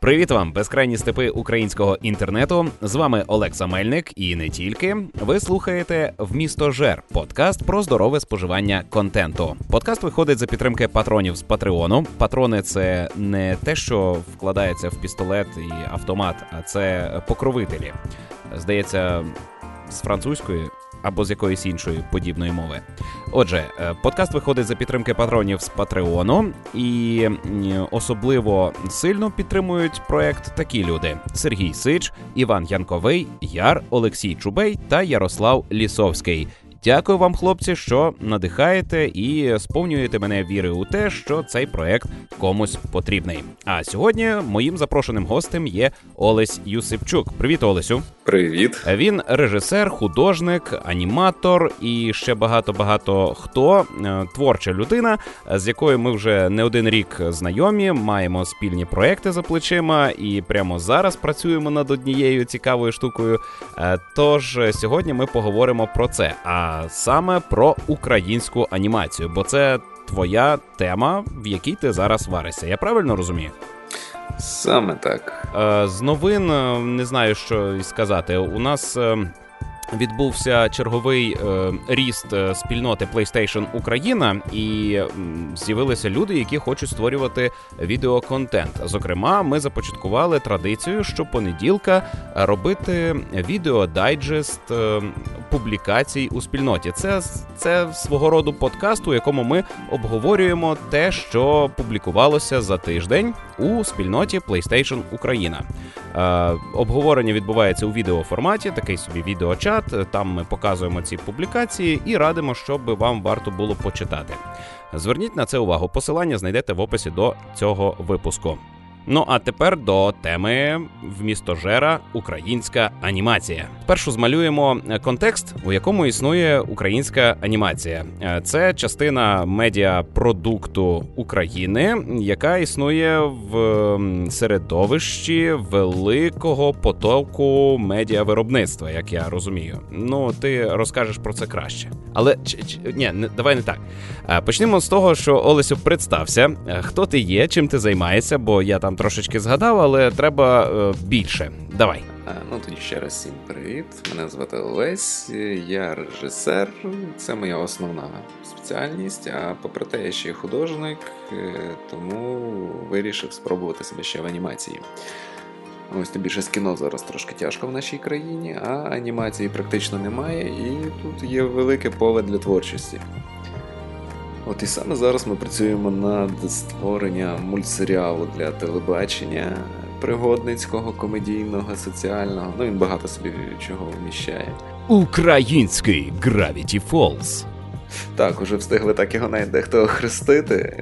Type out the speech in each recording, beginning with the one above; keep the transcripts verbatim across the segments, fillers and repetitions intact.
Привіт вам, безкрайні степи українського інтернету. З вами Олекса Мельник і не тільки. Ви слухаєте «Вмістожер» – подкаст про здорове споживання контенту. Подкаст виходить за підтримки патронів з Патреону. Патрони – це не те, що вкладається в пістолет і автомат, а це покровителі. Здається, з французької або з якоїсь іншої подібної мови. Отже, подкаст виходить за підтримки патронів з Патреону, і особливо сильно підтримують проект такі люди: Сергій Сич, Іван Янковий, Яр, Олексій Чубей та Ярослав Лісовський. Дякую вам, хлопці, що надихаєте і сповнюєте мене віри у те, що цей проект комусь потрібний. А сьогодні моїм запрошеним гостем є Олесь Юсипчук. Привіт, Олесю. Привіт. Він режисер, художник, аніматор і ще багато-багато хто. Творча людина, з якою ми вже не один рік знайомі, маємо спільні проекти за плечима і прямо зараз працюємо над однією цікавою штукою. Тож сьогодні ми поговоримо про це, а саме про українську анімацію, бо це твоя тема, в якій ти зараз варишся. Я правильно розумію? Саме так. З новин не знаю, що і сказати. У нас відбувся черговий е, ріст спільноти PlayStation Україна, і е, з'явилися люди, які хочуть створювати відеоконтент. Зокрема, ми започаткували традицію щопонеділка робити відеодайджест е, публікацій у спільноті. Це, це свого роду подкаст, у якому ми обговорюємо те, що публікувалося за тиждень у спільноті PlayStation Україна. Е, обговорення відбувається у відеоформаті, такий собі відеочат. Там ми показуємо ці публікації і радимо, щоб вам варто було почитати. Зверніть на це увагу. Посилання знайдете в описі до цього випуску. Ну, а тепер до теми «Вмістожера. Українська анімація». Спершу змалюємо контекст, у якому існує українська анімація. Це частина медіапродукту України, яка існує в середовищі великого потоку медіавиробництва, як я розумію. Ну, ти розкажеш про це краще. Але, ч, ч, ні, не, давай не так. Почнемо з того, що, Олесю, представся. Хто ти є, чим ти займаєшся, бо я там трошечки згадав, але треба е, більше. Давай. А, ну, тоді ще раз всім привіт. Мене звати Олесь, я режисер. Це моя основна спеціальність, а попри те, я ще й художник, тому вирішив спробувати себе ще в анімації. Ось тим більше з кіно зараз трошки тяжко в нашій країні, а анімації практично немає, і тут є велике поле для творчості. От і саме зараз ми працюємо над створенням мультсеріалу для телебачення, пригодницького, комедійного, соціального. Ну, він багато собі чого вміщає. Український Gravity Falls. Так, уже встигли так його навіть дехто охрестити.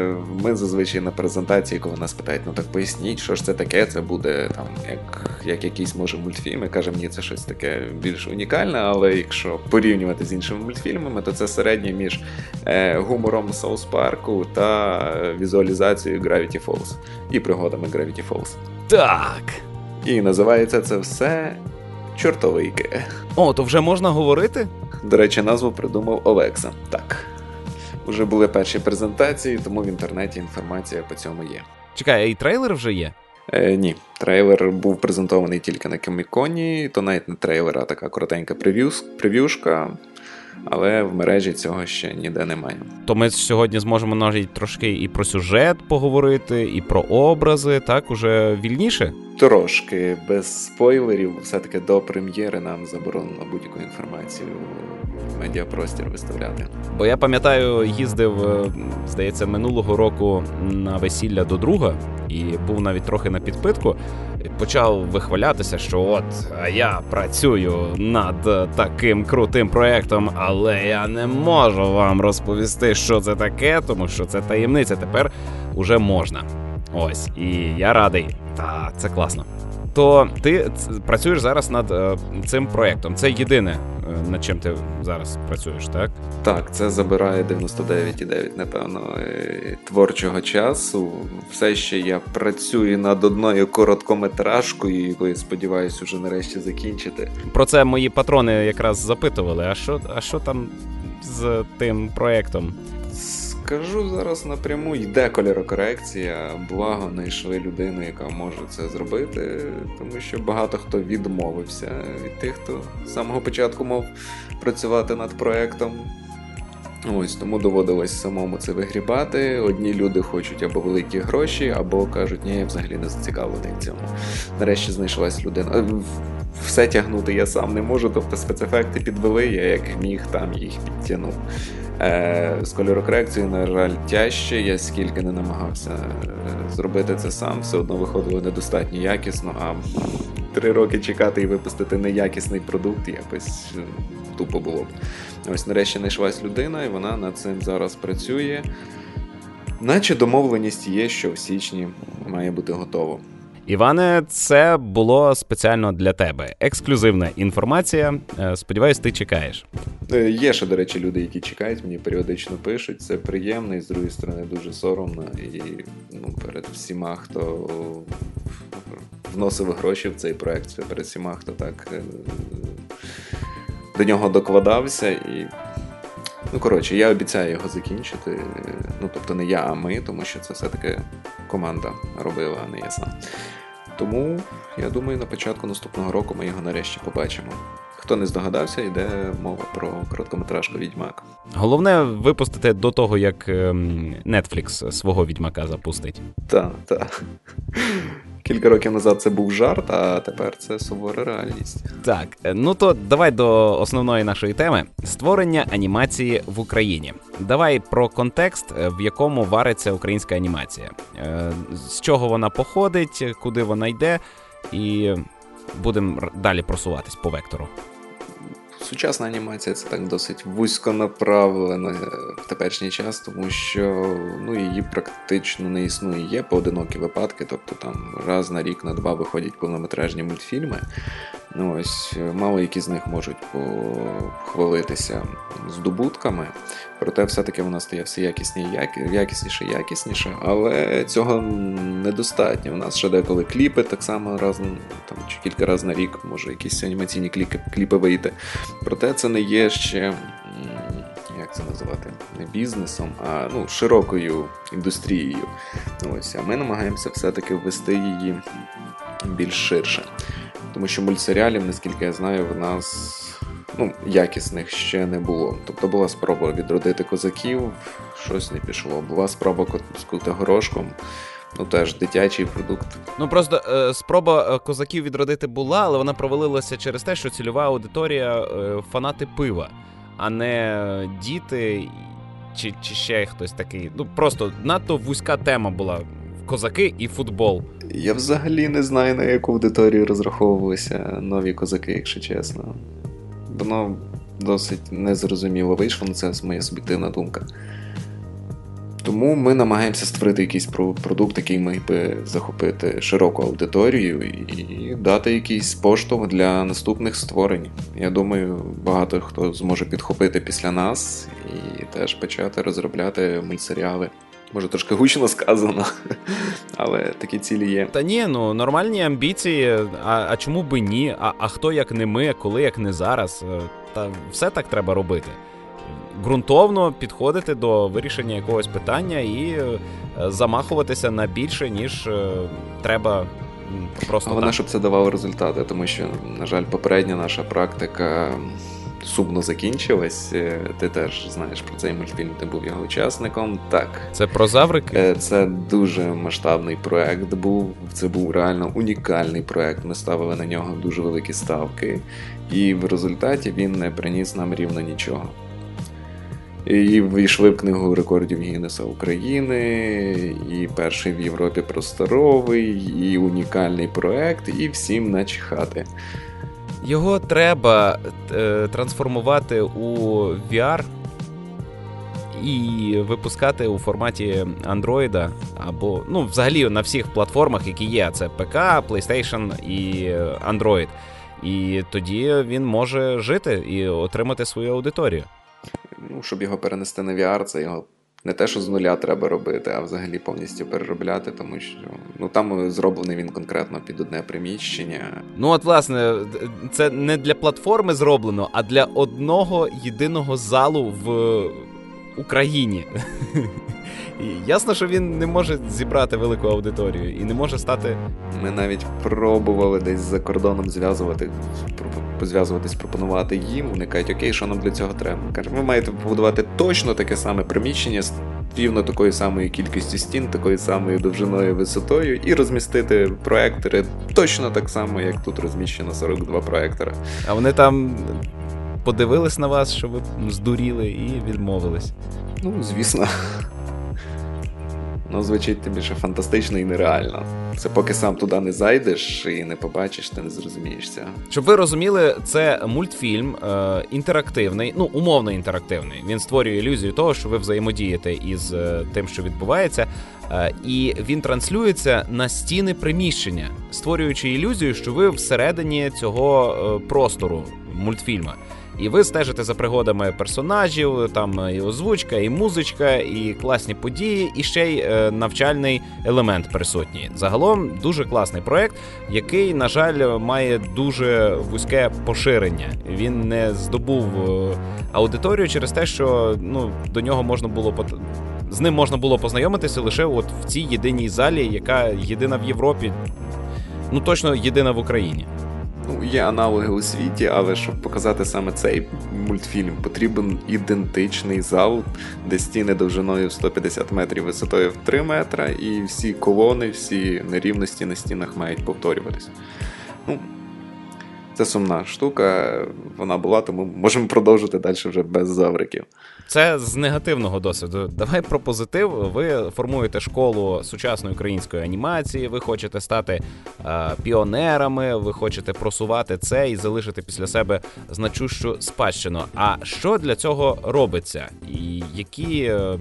Ми зазвичай на презентації, коли нас питають, ну так поясніть, що ж це таке, це буде там як, як якийсь, може, мультфільм. Ми кажемо, ні, це щось таке більш унікальне, але якщо порівнювати з іншими мультфільмами, то це середнє між е, гумором Саус Парку та візуалізацією Gravity Falls і пригодами Gravity Falls. Так! І називається це все «Чортовики». О, то вже можна говорити? До речі, назву придумав Олекса. Так. Уже були перші презентації, тому в інтернеті інформація по цьому є. Чекай, а і трейлер вже є? Е, ні. Трейлер був презентований тільки на Комік-Коні, то навіть не трейлер, а така коротенька прев'ю, прев'юшка. Але в мережі цього ще ніде немає. То ми сьогодні зможемо навіть трошки і про сюжет поговорити, і про образи, так, уже вільніше? Трошки, без спойлерів, все-таки до прем'єри нам заборонено будь-яку інформацію в медіапростір виставляти. Бо я пам'ятаю, їздив, здається, минулого року на весілля до друга, і був навіть трохи на підпитку, почав вихвалятися, що от, а я працюю над таким крутим проєктом, але я не можу вам розповісти, що це таке, тому що це таємниця, тепер уже можна. Ось, і я радий. Та, це класно. То ти працюєш зараз над е, цим проєктом. Це єдине, е, над чим ти зараз працюєш, так? Так, це забирає дев'яносто дев'ять цілих дев'ять десятих, напевно, творчого часу. Все ще я працюю над одною короткометражкою, яку, сподіваюся, вже нарешті закінчити. Про це мої патрони якраз запитували, а що, а що там з тим проєктом? Скажу зараз напряму, йде кольорокорекція, благо знайшли людину, яка може це зробити, тому що багато хто відмовився від тих, хто з самого початку мав працювати над проектом. Ось, тому доводилось самому це вигрібати. Одні люди хочуть або великі гроші, або кажуть, ні, я взагалі не зацікавлений в цьому. Нарешті знайшлась людина. Все тягнути я сам не можу, тобто спецефекти підвели, я як міг там їх підтягнув. Е, з кольорокорекцією, на жаль, тяжче, я скільки не намагався зробити це сам, все одно виходило недостатньо якісно, а три роки чекати і випустити неякісний продукт якось тупо було б. Ось нарешті знайшлась людина, і вона над цим зараз працює. Наче домовленість є, що в січні має бути готово. Іване, це було спеціально для тебе. Ексклюзивна інформація. Сподіваюсь, ти чекаєш. Є ще, до речі, люди, які чекають, мені періодично пишуть. Це приємно і, з другої сторони, дуже соромно. І ну, перед всіма, хто вносив гроші в цей проект, перед всіма, хто так до нього докладався. І, ну, коротше, я обіцяю його закінчити. Ну, тобто не я, а ми, тому що це все-таки команда робила, а не я сам. Тому, я думаю, на початку наступного року ми його нарешті побачимо. Хто не здогадався, йде мова про короткометражку «Відьмак». Головне випустити до того, як Netflix свого «Відьмака» запустить. Так, так. Кілька років назад це був жарт, а тепер це сувора реальність. Так, ну то давай до основної нашої теми. Створення анімації в Україні. Давай про контекст, в якому вариться українська анімація. З чого вона походить, куди вона йде, і будемо далі просуватись по вектору. Сучасна анімація – це так досить вузьконаправлена в теперішній час, тому що ну, її практично не існує. Є поодинокі випадки, тобто там раз на рік, на два виходять повнометражні мультфільми. Ну, ось, мало які з них можуть похвалитися здобутками, проте все-таки вона стає все якісніше, якісніше, якісніше, але цього недостатньо. У нас ще деколи кліпи, так само раз, там, чи кілька разів на рік, може якісь анімаційні кліпи, кліпи вийти. Проте це не є ще, як це називати, не бізнесом, а ну, широкою індустрією. Ось, а ми намагаємося все-таки ввести її більш ширше. Тому що мультсеріалів, наскільки я знаю, в нас ну, якісних ще не було. Тобто була спроба відродити козаків, щось не пішло. Була спроба з Котигорошком, ну теж дитячий продукт. Ну просто е, спроба козаків відродити була, але вона провалилася через те, що цільова аудиторія е, фанати пива, а не діти чи, чи ще хтось такий. Ну просто надто вузька тема була. Козаки і футбол. Я взагалі не знаю, на яку аудиторію розраховувалися нові козаки, якщо чесно. Воно досить незрозуміло вийшло, це моя суб'єктивна думка. Тому ми намагаємося створити якийсь продукт, який міг би захопити широку аудиторію і дати якийсь поштовх для наступних створень. Я думаю, багато хто зможе підхопити після нас і теж почати розробляти мультсеріали. Може, трошки гучно сказано, але такі цілі є. Та ні, ну, нормальні амбіції, а, а чому би ні? А, а хто як не ми, коли як не зараз? Та все так треба робити. Ґрунтовно підходити до вирішення якогось питання і замахуватися на більше, ніж треба просто. А вона, щоб це давало результати, тому що, на жаль, попередня наша практика сумно закінчилась. Ти теж знаєш про цей мультфільм, ти був його учасником. Так. Це про заврики? Це дуже масштабний проект був. Це був реально унікальний проект. Ми ставили на нього дуже великі ставки. І в результаті він не приніс нам рівно нічого. І війшли в книгу рекордів Гіннеса України, і перший в Європі просторовий, і унікальний проект, і всім начихати. Його треба е, трансформувати у ві ар і випускати у форматі Android або, ну, взагалі на всіх платформах, які є. Це пі сі, PlayStation і Android. І тоді він може жити і отримати свою аудиторію. Ну, щоб його перенести на ві ар, це його не те, що з нуля треба робити, а взагалі повністю переробляти, тому що ну, там зроблений він конкретно під одне приміщення. Ну от, власне, це не для платформи зроблено, а для одного єдиного залу в Україні. І ясно, що він не може зібрати велику аудиторію і не може стати... Ми навіть пробували десь за кордоном зв'язувати, зв'язуватись, пропонувати їм. Вони кажуть, окей, що нам для цього треба? Кажуть, ви маєте побудувати точно таке саме приміщення з рівно такою самою кількістю стін, такою самою довжиною, висотою, і розмістити проектори точно так само, як тут розміщено сорок два проектора. А вони там подивились на вас, що ви здуріли, і відмовились. Ну, звісно. Ну, звучить тим більше фантастично і нереально. Це поки сам туди не зайдеш і не побачиш, ти не зрозумієш цього. Щоб ви розуміли, це мультфільм е, інтерактивний, ну, умовно інтерактивний. Він створює ілюзію того, що ви взаємодієте із е, тим, що відбувається, е, і він транслюється на стіни приміщення, створюючи ілюзію, що ви всередині цього е, простору мультфільму. І ви стежите за пригодами персонажів, там і озвучка, і музичка, і класні події, і ще й е, навчальний елемент присутній. Загалом дуже класний проект, який, на жаль, має дуже вузьке поширення. Він не здобув е, аудиторію через те, що ну, до нього можна було пот... з ним можна було познайомитися лише от в цій єдиній залі, яка єдина в Європі, ну точно єдина в Україні. Ну, є аналоги у світі, але щоб показати саме цей мультфільм, потрібен ідентичний зал, де стіни довжиною в сто п'ятдесят метрів, висотою в три метри, і всі колони, всі нерівності на стінах мають повторюватися. Ну, це сумна штука, вона була, тому можемо продовжити далі вже без завриків. Це з негативного досвіду. Давай про позитив. Ви формуєте школу сучасної української анімації, ви хочете стати е, піонерами, ви хочете просувати це і залишити після себе значущу спадщину. А що для цього робиться? І які, е,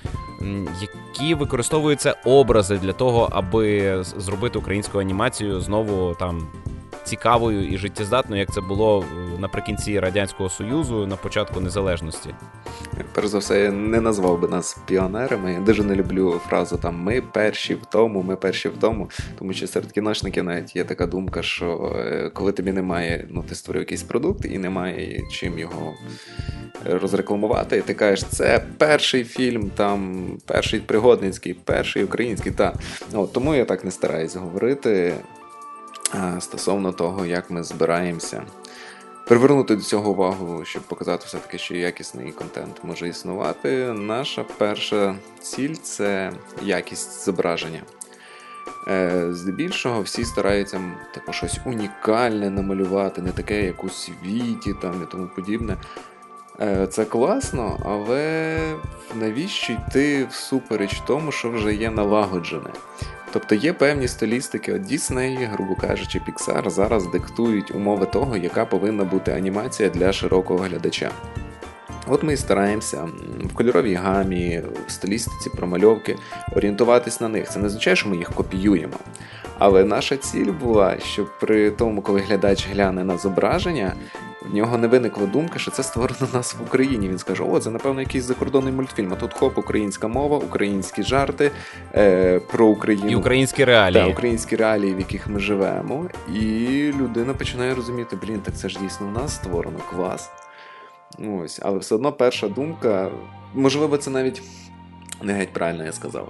які використовуються образи для того, аби зробити українську анімацію знову там цікавою і життєздатною, як це було наприкінці Радянського Союзу, на початку незалежності? Перш за все, я не назвав би нас піонерами. Я дуже не люблю фразу там «ми перші в тому, ми перші в тому», тому що серед кіношників навіть є така думка, що коли тобі немає, ну ти створив якийсь продукт і немає чим його розрекламувати, і ти кажеш, це перший фільм, там, перший пригодницький, перший український, та. От, тому я так не стараюсь говорити стосовно того, як ми збираємося привернути до цього увагу, щоб показати все-таки, що якісний контент може існувати. Наша перша ціль – це якість зображення. Здебільшого всі стараються типу, щось унікальне намалювати, не таке, як у світі там, і тому подібне. Це класно, але навіщо йти всупереч тому, що вже є налагоджене? Тобто є певні стилістики, от Disney, грубо кажучи, Pixar зараз диктують умови того, яка повинна бути анімація для широкого глядача. От ми і стараємося в кольоровій гамі, в стилістиці промальовки орієнтуватись на них. Це не означає, що ми їх копіюємо. Але наша ціль була, щоб при тому, коли глядач гляне на зображення, в нього не виникла думка, що це створено у нас в Україні. Він скаже, о, це, напевно, якийсь закордонний мультфільм. А тут хоп, українська мова, українські жарти, е, про Україну. І українські реалії. Так, українські реалії, в яких ми живемо. І людина починає розуміти, блін, так це ж дійсно у нас створено, клас. Ось, але все одно перша думка, можливо, це навіть не геть правильно я сказав.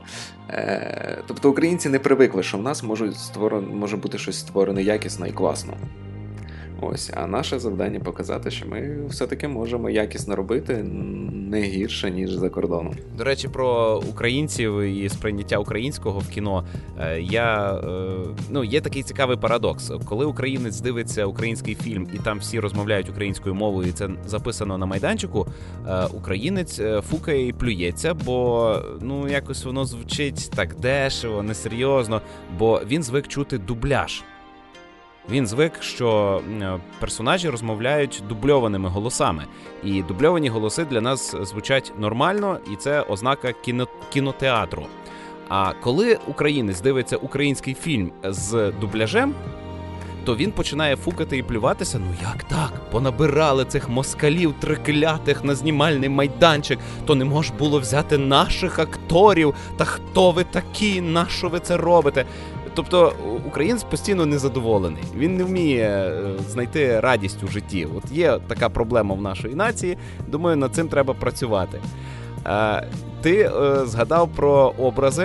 Е, тобто українці не привикли, що в нас може, створено, може бути щось створене якісно і класно. Ось, а наше завдання показати, що ми все-таки можемо якісно робити не гірше, ніж за кордоном. До речі, про українців і сприйняття українського в кіно. Я, ну, є такий цікавий парадокс. Коли українець дивиться український фільм і там всі розмовляють українською мовою, і це записано на майданчику, українець фукає і плюється, бо ну, якось воно звучить так дешево, несерйозно, бо він звик чути дубляж. Він звик, що персонажі розмовляють дубльованими голосами. І дубльовані голоси для нас звучать нормально, і це ознака кіно... кінотеатру. А коли українець дивиться український фільм з дубляжем, то він починає фукати і плюватися. Ну як так? Понабирали цих москалів триклятих на знімальний майданчик, то не мож було взяти наших акторів. Та хто ви такі? Нащо ви це робите? Тобто українець постійно незадоволений. Він не вміє знайти радість у житті. От є така проблема в нашої нації. Думаю, над цим треба працювати. Ти е, згадав про образи,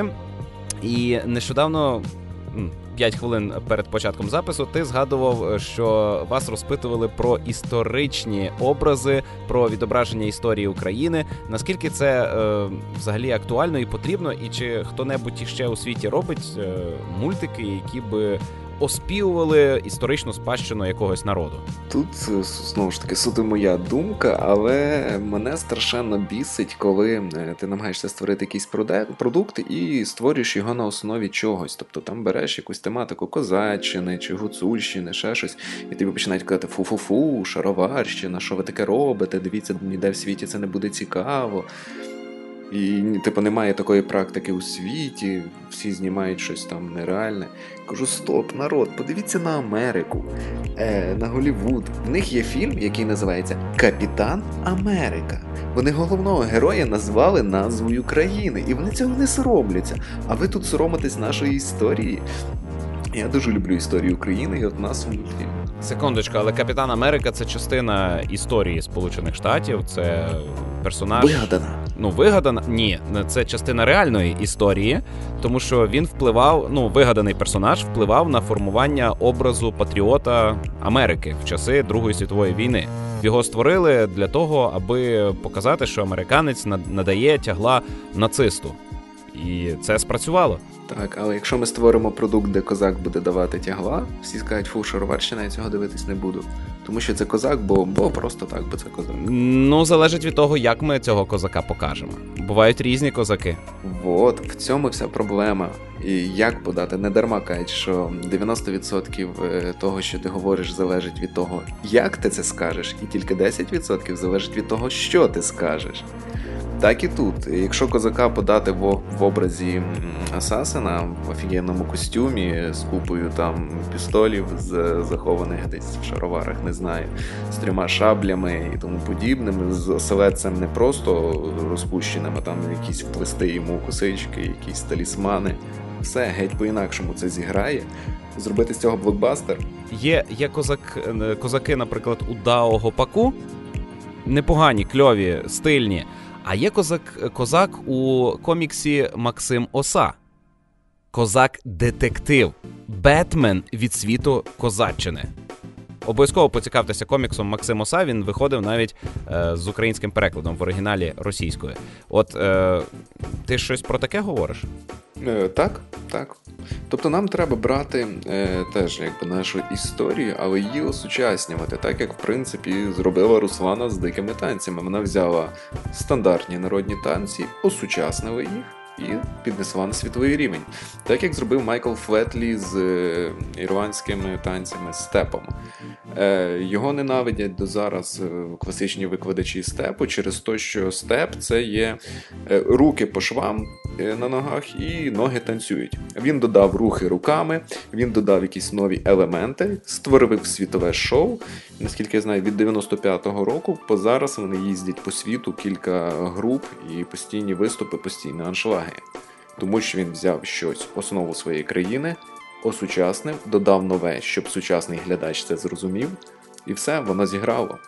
і нещодавно, п'ять хвилин перед початком запису, ти згадував, що вас розпитували про історичні образи, про відображення історії України. Наскільки це е, взагалі актуально і потрібно, і чи хто-небудь іще у світі робить е, мультики, які би оспівували історичну спадщину якогось народу? Тут, знову ж таки, суто моя думка, але мене страшенно бісить, коли ти намагаєшся створити якийсь продукт і створюєш його на основі чогось. Тобто там береш якусь тематику козаччини чи гуцульщини, ще щось, і тобі починають казати фу-фу-фу, шароварщина, що ви таке робите, дивіться, ніде в світі це не буде цікаво. І, типу, немає такої практики у світі, всі знімають щось там нереальне. Кажу, стоп, народ, подивіться на Америку, е, на Голлівуд. В них є фільм, який називається «Капітан Америка». Вони головного героя назвали назвою країни, і вони цього не соромляться. А ви тут соромитесь нашої історії? Я дуже люблю історію України, і от нас у мультфільмі. Секундочку, але Капітан Америка – це частина історії Сполучених Штатів, це персонаж... Вигадана. Ну, вигадана? Ні, це частина реальної історії, тому що він впливав, ну, вигаданий персонаж впливав на формування образу патріота Америки в часи Другої світової війни. Його створили для того, аби показати, що американець надає тягла нацисту. І це спрацювало. Так, але якщо ми створимо продукт, де козак буде давати тягла, всі скажуть, фу, шароварщина, я цього дивитись не буду. Тому що це козак, бо, бо просто так, бо це козак. Ну, залежить від того, як ми цього козака покажемо. Бувають різні козаки. Вот, в цьому вся проблема. І як подати? Не дарма кажуть, що дев'яносто відсотків того, що ти говориш, залежить від того, як ти це скажеш, і тільки десять відсотків залежить від того, що ти скажеш. Так і тут. Якщо козака подати в, в образі асасина в офігенному костюмі з купою там пістолів, з захованих десь в шароварах, не знаю, з трьома шаблями і тому подібним, з оселедцем не просто розпущеним, а там якісь вплести йому косички, якісь талісмани. Все, геть по-інакшому це зіграє. Зробити з цього блокбастер. Є, є козак, козаки, наприклад, у Дао Гопаку, непогані, кльові, стильні. А є козак, козак у коміксі Максим Оса. Козак-детектив. Бетмен від світу козаччини. Обов'язково поцікавтеся коміксом Максим Оса, він виходив навіть е, з українським перекладом в оригіналі російською. От е, ти щось про таке говориш? Е, так, так. Тобто нам треба брати е, теж якби нашу історію, але її осучаснювати, так як в принципі зробила Руслана з дикими танцями. Вона взяла стандартні народні танці, осучаснила їх і піднесла на світовий рівень. Так як зробив Майкл Флетлі з е, ірландськими танцями степом. Е, його ненавидять до зараз класичні викладачі степу через те, що степ – це є е, руки по швам е, на ногах і ноги танцюють. Він додав рухи руками, він додав якісь нові елементи, створив світове шоу. Наскільки я знаю, від дев'яносто п'ятого року по зараз вони їздять по світу, кілька груп і постійні виступи, постійні аншлаги. Тому що він взяв щось, основу своєї країни, осучаснив, додав нове, щоб сучасний глядач це зрозумів, і все, воно зіграло.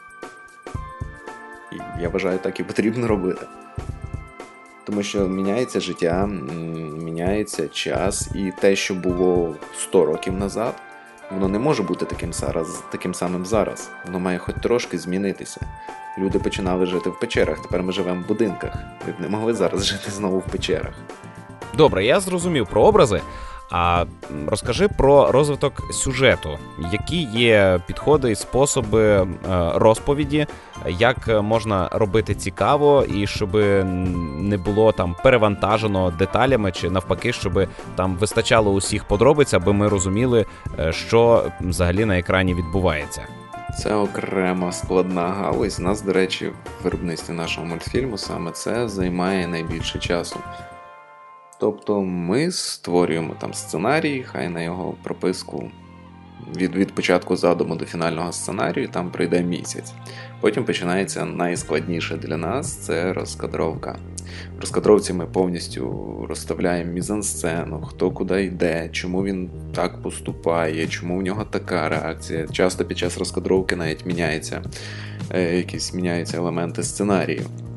І я вважаю, так і потрібно робити. Тому що міняється життя, міняється час, і те, що було сто років назад, воно не може бути таким, зараз, таким самим зараз. Воно має хоч трошки змінитися. Люди починали жити в печерах, тепер ми живемо в будинках. Ви б не могли зараз жити знову в печерах. Добре, я зрозумів про образи, а розкажи про розвиток сюжету. Які є підходи і способи розповіді, як можна робити цікаво і щоб не було там перевантажено деталями, чи навпаки, щоб там вистачало усіх подробиць, аби ми розуміли, що взагалі на екрані відбувається. Це окрема складна галузь. Нас, до речі, в виробництві нашого мультфільму саме це займає найбільше часу. Тобто ми створюємо там сценарій, хай на його прописку від, від початку задуму до фінального сценарію там пройде місяць. Потім починається найскладніше для нас – це розкадровка. В розкадровці ми повністю розставляємо мізансцену, хто куди йде, чому він так поступає, чому в нього така реакція. Часто під час розкадровки навіть міняється, якісь міняються елементи сценарію.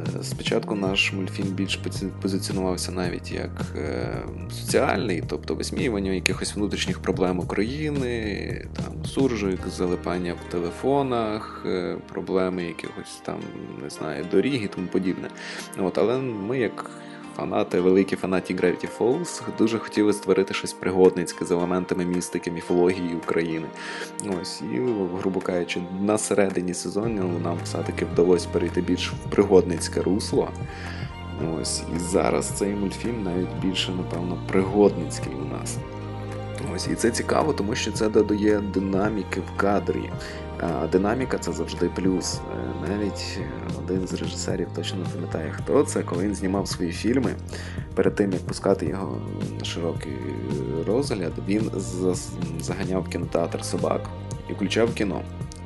Спочатку наш мультфільм більш позиціонувався навіть як соціальний, тобто висміювання якихось внутрішніх проблем України, там суржик, залипання в телефонах, проблеми якихось там, не знаю, доріг і тому подібне. От, але ми як фанати, великі фанаті Gravity Falls, дуже хотіли створити щось пригодницьке з елементами містики, міфології України. Ось, і, грубо кажучи, на середині сезону нам все-таки вдалося перейти більш в пригодницьке русло. Ось, і зараз цей мультфільм навіть більше, напевно, пригодницький у нас. Ось, і це цікаво, тому що це додає динаміки в кадрі. А динаміка – це завжди плюс. Навіть один з режисерів, точно не пам'ятає хто це, коли він знімав свої фільми, перед тим, як пускати його на широкий розгляд, він заганяв в кінотеатр собак і включав кіно.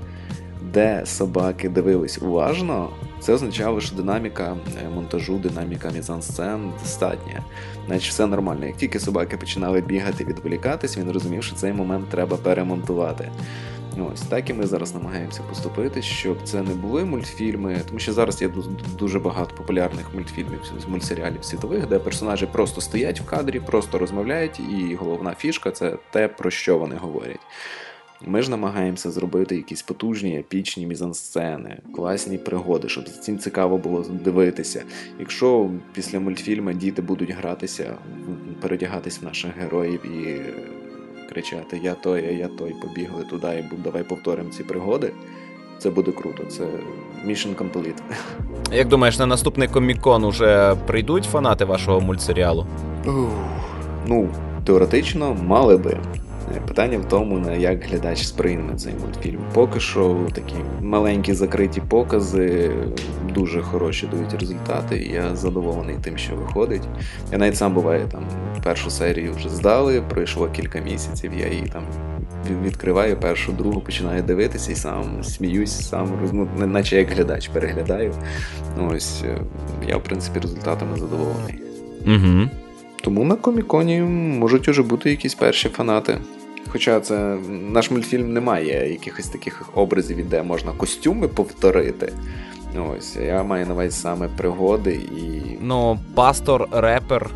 Де собаки дивились уважно, це означало, що динаміка монтажу, динаміка мізансцен достатня. Значить, все нормально. Як тільки собаки починали бігати, відволікатись, він розумів, що цей момент треба перемонтувати. Ось так і ми зараз намагаємося поступити, щоб це не були мультфільми, тому що зараз є дуже багато популярних мультфільмів, мультсеріалів світових, де персонажі просто стоять в кадрі, просто розмовляють, і головна фішка – це те, про що вони говорять. Ми ж намагаємося зробити якісь потужні, епічні мізансцени, класні пригоди, щоб цим цікаво було дивитися. Якщо після мультфільму діти будуть гратися, передягатись в наших героїв і кричати «я той, а я той, побігли туди і давай повторимо ці пригоди», це буде круто, це mission complete. Як думаєш, на наступний комік-кон уже прийдуть фанати вашого мультсеріалу? Ух, ну, теоретично мали би. Питання в тому, на як глядач сприйме цей мультфільм. Поки що такі маленькі закриті покази дуже хороші дають результати, і я задоволений тим, що виходить. Я навіть сам, буває, там першу серію вже здали, пройшло кілька місяців, я її там відкриваю, першу, другу починаю дивитися і сам сміюсь, сам, ну, наче як глядач переглядаю. Ось, я, в принципі, результатами задоволений. Угу. Тому на коміконі можуть уже бути якісь перші фанати. Хоча це наш мультфільм не має якихось таких образів, де можна костюми повторити. Ось, я маю на увазі саме пригоди і... Ну, пастор, репер.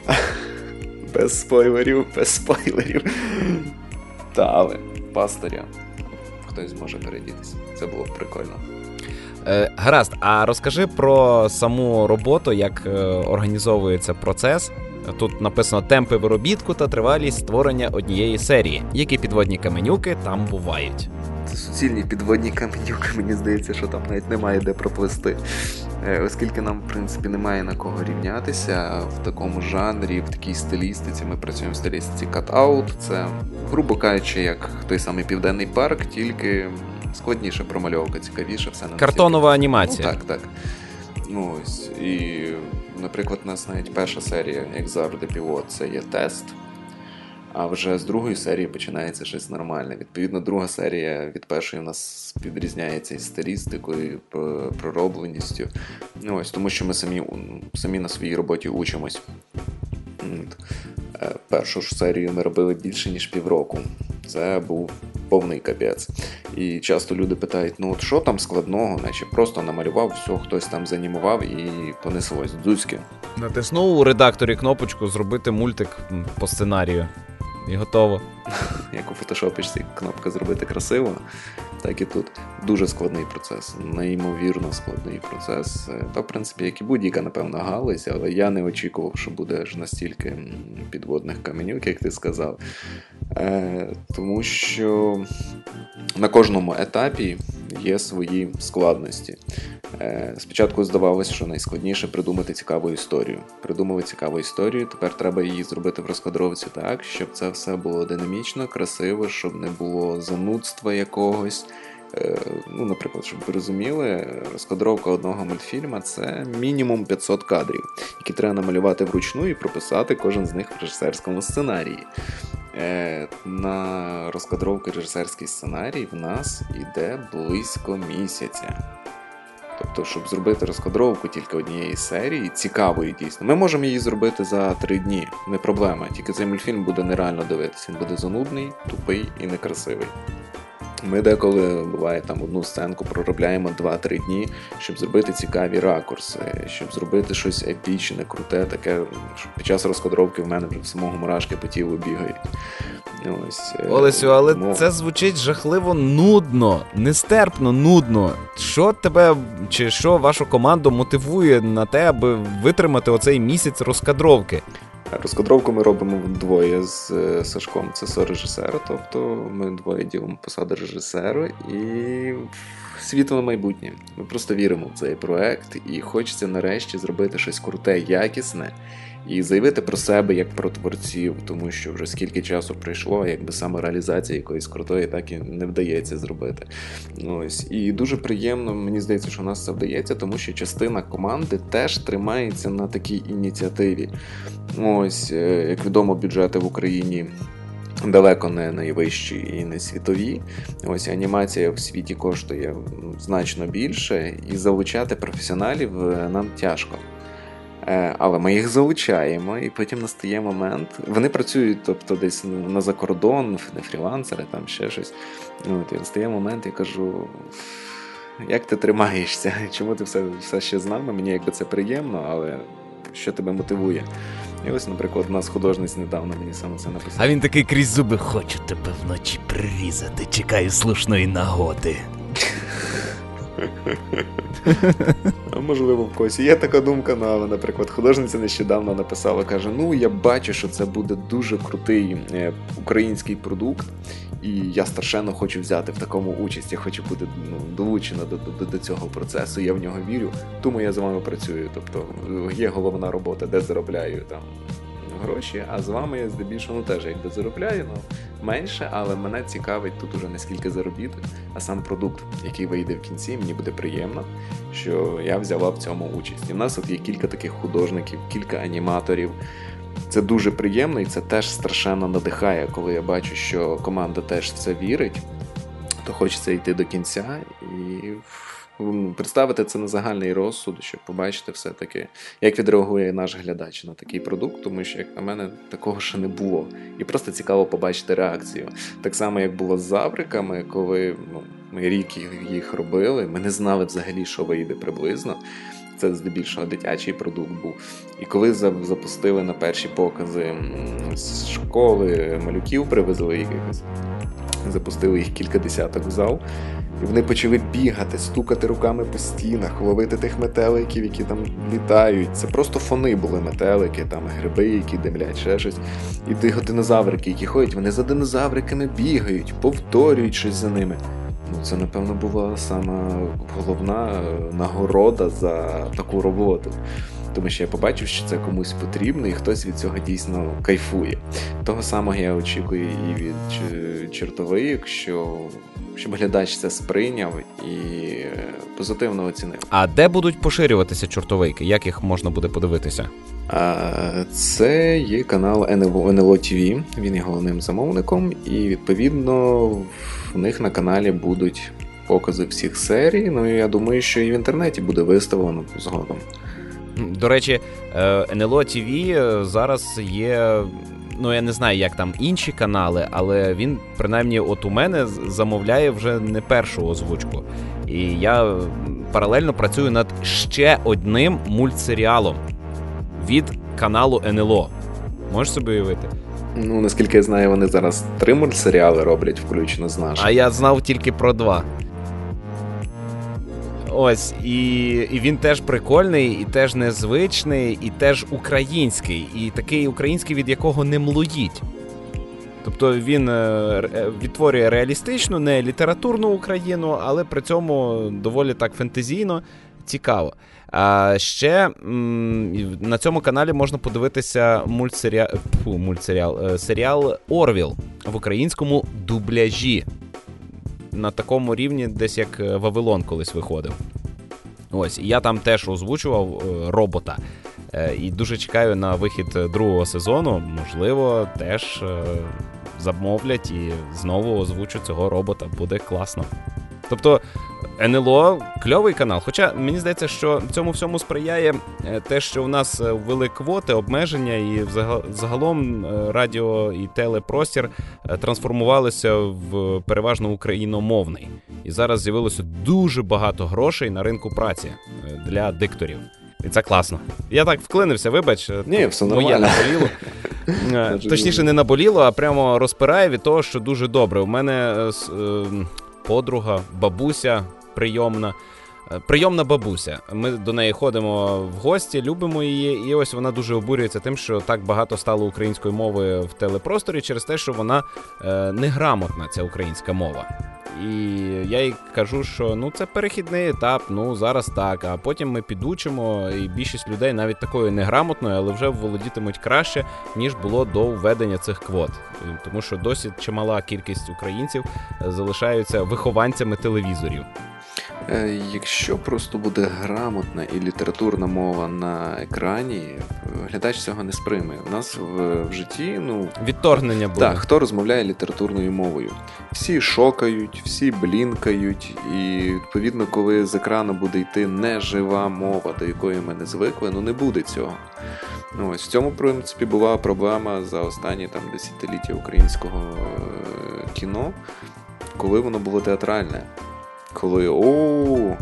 Без спойлерів, без спойлерів. Та, але пастиря хтось зможе передітися. Це було б прикольно. Е, гаразд, а розкажи про саму роботу, як е, організовується процес. Тут написано темпи виробітку та тривалість створення однієї серії. Які підводні каменюки там бувають? Це суцільні підводні каменюки, мені здається, що там навіть немає де проплисти. Оскільки нам, в принципі, немає на кого рівнятися в такому жанрі, в такій стилістиці. Ми працюємо в стилістиці cut-out. Це, грубо кажучи, як той самий Південний парк, тільки складніше промальовка, цікавіше. Все на картонова анімація. Ну, так, так. Ну, ось. І, наприклад, у нас навіть перша серія, як завжди, пілот, це є тест. А вже з другої серії починається щось нормальне. Відповідно, друга серія від першої у нас відрізняється і стилістикою, і проробленістю. Ну, ось, тому що ми самі, самі на своїй роботі учимось. Першу ж серію ми робили більше, ніж півроку. Це був повний капець. І часто люди питають, ну от що там складного, наче просто намалював, все, хтось там занімував і понеслось. Дзузьки. Натиснув у редакторі кнопочку «Зробити мультик по сценарію». І готово. Як у фотошопічці кнопка «Зробити красиво», так і тут. Дуже складний процес, неймовірно складний процес. Та, в принципі, як і будь-яка, напевно, галузь, але я не очікував, що буде ж настільки підводних каменюк, як ти сказав. Е, тому що на кожному етапі є свої складності. Е, спочатку здавалося, що найскладніше придумати цікаву історію. Придумали цікаву історію, тепер треба її зробити в розкадровці так, щоб це все було динамічно, красиво, щоб не було занудства якогось. Е, ну, наприклад, щоб ви розуміли, розкадровка одного мультфільма – це мінімум п'ятсот кадрів, які треба намалювати вручну і прописати кожен з них в режисерському сценарії. Е, на розкадровку режисерський сценарій в нас йде близько місяця. Тобто, щоб зробити розкадровку тільки однієї серії, цікавої дійсно. Ми можемо її зробити за три дні, не проблема. Тільки цей мультфільм буде нереально дивитися. Він буде занудний, тупий і некрасивий. Ми деколи, буває, там одну сценку проробляємо два-три дні, щоб зробити цікаві ракурси, щоб зробити щось епічне, круте, таке, що під час розкадровки в мене вже в самого мурашки по тілу бігають. Ось. Олесю, але ну... це звучить жахливо нудно, нестерпно нудно. Що тебе, чи що вашу команду мотивує на те, аби витримати оцей місяць розкадровки? Розкадровку ми робимо вдвоє з Сашком, це со-режисера, тобто ми двоє ділимо посаду режисера і світле майбутнє. Ми просто віримо в цей проект і хочеться нарешті зробити щось круте, якісне і заявити про себе як про творців, тому що вже скільки часу пройшло, якби саме реалізація якоїсь крутої так і не вдається зробити. Ось. І дуже приємно, мені здається, що у нас це вдається, тому що частина команди теж тримається на такій ініціативі. Ось, як відомо, бюджети в Україні далеко не найвищі і не світові. Ось, анімація в світі коштує значно більше, і залучати професіоналів нам тяжко. Але ми їх залучаємо, і потім настає момент. Вони працюють, тобто, десь на закордон, не фрілансери, там ще щось. От, і настає момент, я кажу, як ти тримаєшся? Чому ти все, все ще з нами? Мені якби це приємно, але що тебе мотивує? І ось, наприклад, у нас художниць недавно мені саме це написав. А він такий крізь зуби: хочу тебе вночі прирізати, чекаю слушної нагоди. А можливо, в когось є така думка, ну, але, наприклад, художниця нещодавно написала, каже, ну, я бачу, що це буде дуже крутий е, український продукт, і я страшенно хочу взяти в такому участь, я хочу бути ну, долучена до, до, до цього процесу, я в нього вірю, тому я з вами працюю, тобто є головна робота, де заробляю там гроші, а з вами я здебільшого ну, теж якби заробляю, ну, менше, але мене цікавить тут уже не скільки заробіток, а сам продукт, який вийде в кінці, мені буде приємно, що я взяла в цьому участь. І в нас от є кілька таких художників, кілька аніматорів. Це дуже приємно і це теж страшенно надихає, коли я бачу, що команда теж в це вірить, то хочеться йти до кінця і представити це на загальний розсуд, щоб побачити все-таки, як відреагує наш глядач на такий продукт, тому що, як на мене, такого ще не було. І просто цікаво побачити реакцію. Так само, як було з «Завриками», коли ну, ми рік їх робили, ми не знали взагалі, що вийде приблизно. Це здебільшого дитячий продукт був. І коли запустили на перші покази з школи малюків, привезли якихось, запустили їх кілька десяток в зал, і вони почали бігати, стукати руками по стінах, ловити тих метеликів, які там літають. Це просто фони були метелики, там гриби, які димлять, ще щось. І тих динозаврики, які ходять, вони за динозавриками бігають, повторюють щось за ними. Ну, це, напевно, була сама головна нагорода за таку роботу. Тому що я побачив, що це комусь потрібно, і хтось від цього дійсно кайфує. Того самого я очікую і від «Чортовик», що щоб глядач це сприйняв і позитивно оцінив. А де будуть поширюватися «Чортовики»? Як їх можна буде подивитися? А, це є канал ен ел о, ен ел о ті ві, він є головним замовником, і відповідно в них на каналі будуть покази всіх серій, ну і я думаю, що і в інтернеті буде виставлено згодом. До речі, ен ел о ті ві зараз є, ну я не знаю, як там інші канали, але він, принаймні, от у мене замовляє вже не першу озвучку. І я паралельно працюю над ще одним мультсеріалом від каналу ен ел о. Можеш собі уявити? Ну, наскільки я знаю, вони зараз три мультсеріали роблять, включно з нашим. А я знав тільки про два. Ось, і, і він теж прикольний, і теж незвичний, і теж український. І такий український, від якого не млоїть. Тобто він відтворює реалістичну, не літературну Україну, але при цьому доволі так фентезійно, цікаво. А ще м, на цьому каналі можна подивитися мультсеріал, фу, мультсеріал, серіал «Орвіл» в українському дубляжі. На такому рівні, десь як «Вавилон» колись виходив. Ось, і я там теж озвучував е, робота. Е, і дуже чекаю на вихід другого сезону. Можливо, теж е, замовлять і знову озвучу цього робота. Буде класно. Тобто, ен ел о – кльовий канал. Хоча, мені здається, що цьому всьому сприяє те, що у нас ввели квоти, обмеження, і загалом радіо і телепростір трансформувалися в переважно україномовний. І зараз з'явилося дуже багато грошей на ринку праці для дикторів. І це класно. Я так вклинився, вибач. Ні, все нормально. Моє наболіло. Точніше, не наболіло, а прямо розпирає від того, що дуже добре. У мене подруга, бабуся прийомна. Прийомна бабуся. Ми до неї ходимо в гості, любимо її, і ось вона дуже обурюється тим, що так багато стало української мови в телепросторі через те, що вона е, неграмотна, ця українська мова. І я їй кажу, що ну це перехідний етап, ну зараз так, а потім ми підучимо, і більшість людей навіть такою неграмотною, але вже володітимуть краще, ніж було до введення цих квот. Тому що досі чимала кількість українців залишаються вихованцями телевізорів. Якщо просто буде грамотна і літературна мова на екрані, глядач цього не сприйме. У нас в, в житті, ну... відторгнення буде. Так, хто розмовляє літературною мовою? Всі шокають, всі блінкають, і, відповідно, коли з екрану буде йти нежива мова, до якої ми не звикли, ну не буде цього. Ну, ось в цьому, в принципі, була проблема за останні там десятиліття українського кіно, коли воно було театральне. Коли «О,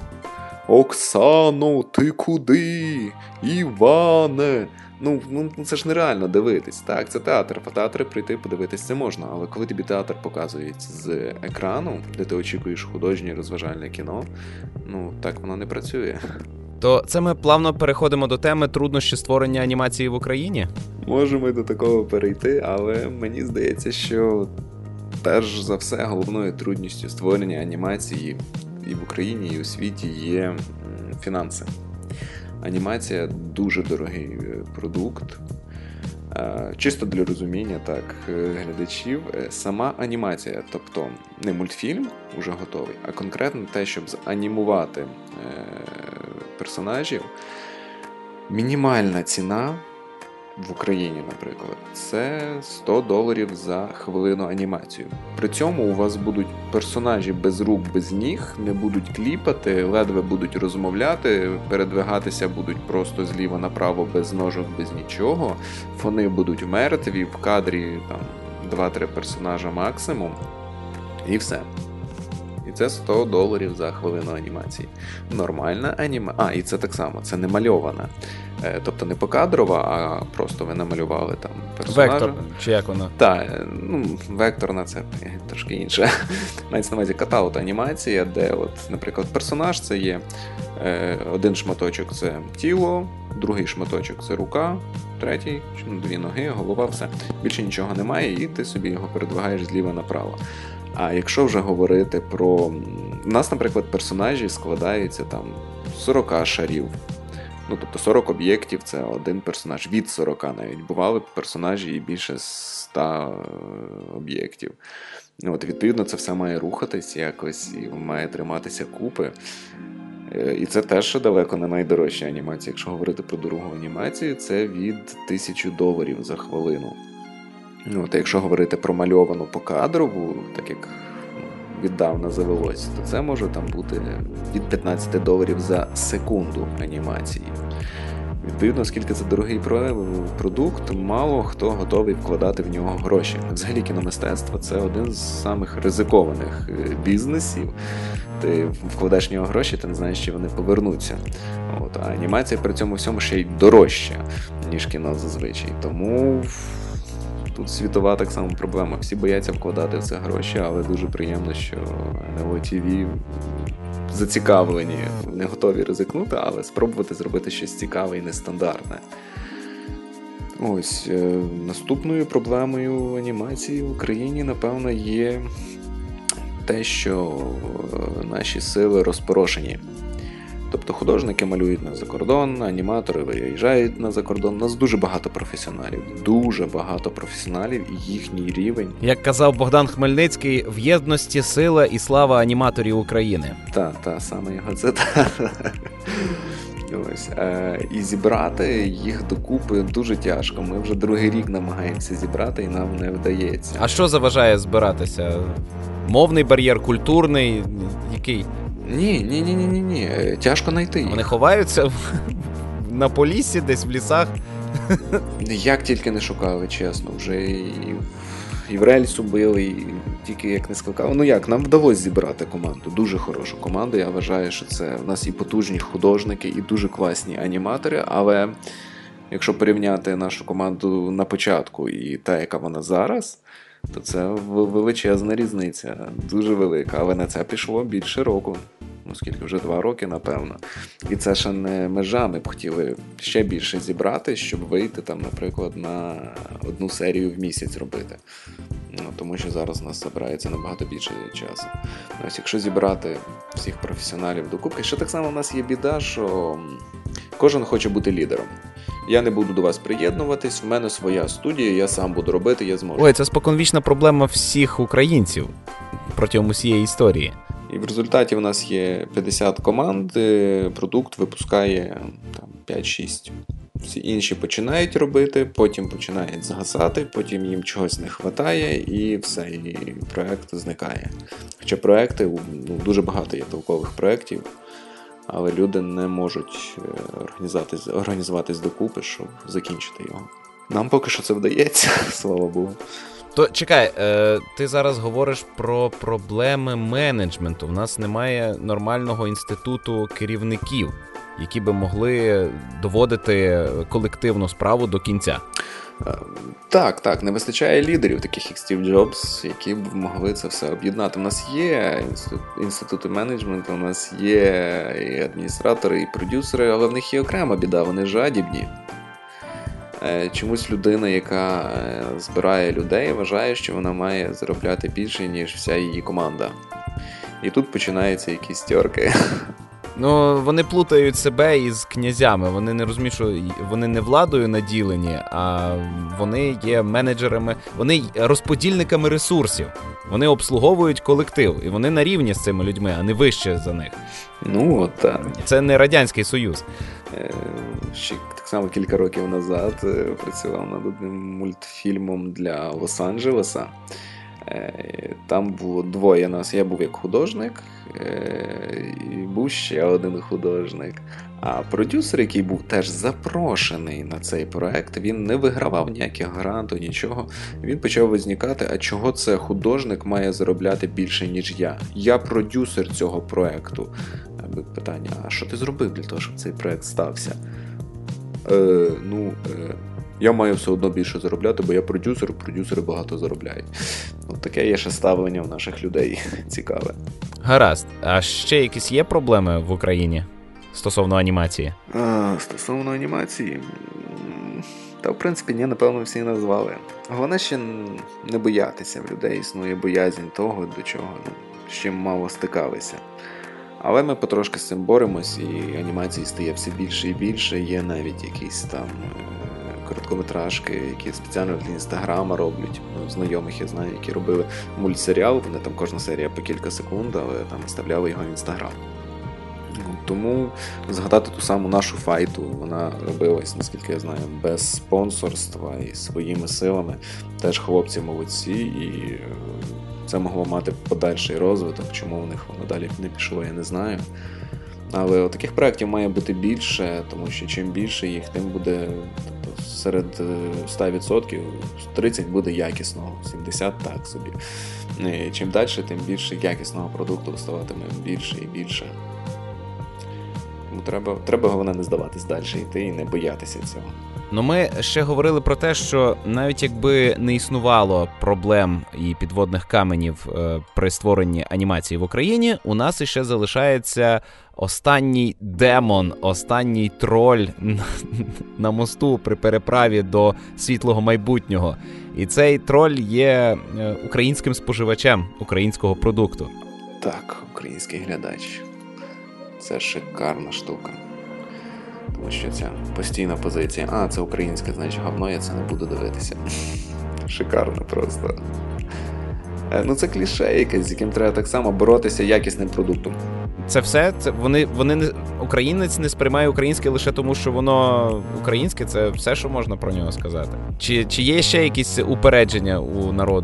Оксано, ти куди? Іване!» Ну, ну, це ж нереально дивитись, так? Це театр. В театри прийти подивитись це можна, але коли тобі театр показують з екрану, де ти очікуєш художнє розважальне кіно, ну, так воно не працює. То це ми плавно переходимо до теми труднощі створення анімації в Україні? Можемо і до такого перейти, але мені здається, що перш за все, головною трудністю створення анімації і в Україні, і у світі є фінанси. Анімація – дуже дорогий продукт. Чисто для розуміння, так, глядачів, сама анімація, тобто не мультфільм уже готовий, а конкретно те, щоб занімувати персонажів, мінімальна ціна в Україні, наприклад, це сто доларів за хвилину анімацію. При цьому у вас будуть персонажі без рук, без ніг, не будуть кліпати, ледве будуть розмовляти, передвигатися будуть просто зліва направо, без ножок, без нічого. Фони будуть мертві, в кадрі там два-три персонажа максимум, і все. І це сто доларів за хвилину анімації. Нормальна анімація. А, і це так само, це не мальована. Тобто не покадрова, а просто ви намалювали там персонажа. Вектор, чи як вона? Так, ну, векторна це трошки інше. Мається на увазі катаут анімація, де, от, наприклад, персонаж це є е, один шматочок це тіло, другий шматочок це рука, третій, дві ноги, голова, все. Більше нічого немає, і ти собі його передвигаєш зліва направо. А якщо вже говорити про... У нас, наприклад, персонажі складаються там з сорок шарів. Ну, тобто сорок об'єктів – це один персонаж. Від сорока навіть. Бували персонажі і більше ста об'єктів. От, відповідно, це все має рухатись якось і має триматися купи. І це теж далеко не найдорожча анімація. Якщо говорити про дорогу анімацію, це від тисячі доларів за хвилину. От, якщо говорити про мальовану покадрову, так як віддавна завелось, то це може там бути від п'ятнадцять доларів за секунду анімації. Відповідно, оскільки це дорогий продукт, мало хто готовий вкладати в нього гроші. Взагалі кіномистецтво – це один з самих ризикованих бізнесів. Ти вкладаєш в нього гроші, ти не знаєш, чи вони повернуться. От, а анімація при цьому всьому ще й дорожча, ніж кіно зазвичай. Тому тут світова так само проблема. Всі бояться вкладати в це гроші, але дуже приємно, що ен ел о ті ві зацікавлені, не готові ризикнути, але спробувати зробити щось цікаве і нестандартне. Ось, е, наступною проблемою анімації в Україні, напевно, є те, що наші сили розпорошені. Тобто художники малюють на закордон, аніматори виїжджають на закордон. У нас дуже багато професіоналів, дуже багато професіоналів і їхній рівень. Як казав Богдан Хмельницький, в єдності сила і слава аніматорів України. Так, та, саме його цитата. Ось, е, і зібрати їх докупи дуже тяжко. Ми вже другий рік намагаємося зібрати і нам не вдається. А що заважає збиратися? Мовний бар'єр, культурний, який? Ні, ні, ні, ні, ні, ні. Тяжко знайти їх. Вони ховаються в... на Поліссі, десь в лісах. Як тільки не шукали, чесно. Вже і, і в рельсу били, і тільки як не скликали. Ну як, нам вдалося зібрати команду. Дуже хорошу команду. Я вважаю, що це в нас і потужні художники, і дуже класні аніматори. Але якщо порівняти нашу команду на початку і та, яка вона зараз, то це величезна різниця. Дуже велика. Але на це пішло більше року. Ну, скільки, вже два роки, напевно. І це ще не межа, ми б хотіли ще більше зібрати, щоб вийти, там, наприклад, на одну серію в місяць робити. Ну, тому що зараз у нас збирається набагато більше часу. Ось, якщо зібрати всіх професіоналів докупки, ще так само у нас є біда, що кожен хоче бути лідером. Я не буду до вас приєднуватись, в мене своя студія, я сам буду робити, я зможу. Ой, це споконвічна проблема всіх українців протягом усієї історії. І в результаті в нас є п'ятдесят команд, продукт випускає там, п'ять-шість. Всі інші починають робити, потім починають згасати, потім їм чогось не вистачає і все, і проєкт зникає. Хоча проєкти, ну, дуже багато є толкових проєктів, але люди не можуть організуватись, організуватись докупи, щоб закінчити його. Нам поки що це вдається, слава Богу. То чекай, е, ти зараз говориш про проблеми менеджменту. В нас немає нормального інституту керівників, які би могли доводити колективну справу до кінця. Так, так, не вистачає лідерів, таких як Стів Джобс, які б могли це все об'єднати. У нас є інститути менеджменту, у нас є і адміністратори, і продюсери, але в них є окрема біда, вони жадібні. Чомусь людина, яка збирає людей, вважає, що вона має заробляти більше, ніж вся її команда. І тут починаються якісь тьорки. Ну, вони плутають себе із князями. Вони не розуміють, що вони не владою наділені, а вони є менеджерами, вони розподільниками ресурсів. Вони обслуговують колектив, і вони на рівні з цими людьми, а не вище за них. Ну, от так. Це не Радянський Союз. Ще так само кілька років назад працював над одним мультфільмом для Лос-Анджелеса. Там було двоє нас. Я був як художник, і був ще один художник. А продюсер, який був теж запрошений на цей проект, він не вигравав ніяких грантів, нічого. Він почав визникати, а чого це художник має заробляти більше, ніж я? Я продюсер цього проекту. Питання, а що ти зробив для того, щоб цей проект стався? Е, ну, е, я маю все одно більше заробляти, бо я продюсер, продюсери багато заробляють. От таке є ще ставлення в наших людей цікаве. Гаразд. А ще якісь є проблеми в Україні стосовно анімації? А, стосовно анімації? Та, в принципі, ні, напевно, всі назвали. Головне ще не боятися. В людей існує боязнь того, до чого, ну, з чим мало стикалися. Але ми потрошки з цим боремось, і анімації стає все більше і більше. Є навіть якісь там короткометражки, які спеціально для Інстаграма роблять. Ну, знайомих я знаю, які робили мультсеріал, вони там кожна серія по кілька секунд, але там вставляли його в Інстаграм. Тому згадати ту саму нашу файту, вона робилась, наскільки я знаю, без спонсорства і своїми силами. Теж хлопці молодці, і це могло мати подальший розвиток. Чому в них воно далі не пішло, я не знаю. Але таких проєктів має бути більше, тому що чим більше їх, тим буде, тобто, серед сто відсотків тридцять буде якісного, сімдесят так собі. І чим далі, тим більше якісного продукту ставатиме більше і більше. Тому треба, треба головне не здаватись далі, йти і не боятися цього. Ну, ми ще говорили про те, що навіть якби не існувало проблем і підводних каменів е, при створенні анімації в Україні, у нас іще залишається останній демон, останній троль на, на мосту при переправі до світлого майбутнього. І цей троль є українським споживачем українського продукту. Так, український глядач. Це шикарна штука. Тому що ця постійна позиція, а, це українське, значить говно, я це не буду дивитися. Шикарно просто. Ну це кліше якесь, з яким треба так само боротися якісним продуктом. Це все? Це вони, вони не, українець не сприймає українське лише тому, що воно українське, це все, що можна про нього сказати? Чи, чи є ще якісь упередження у народу?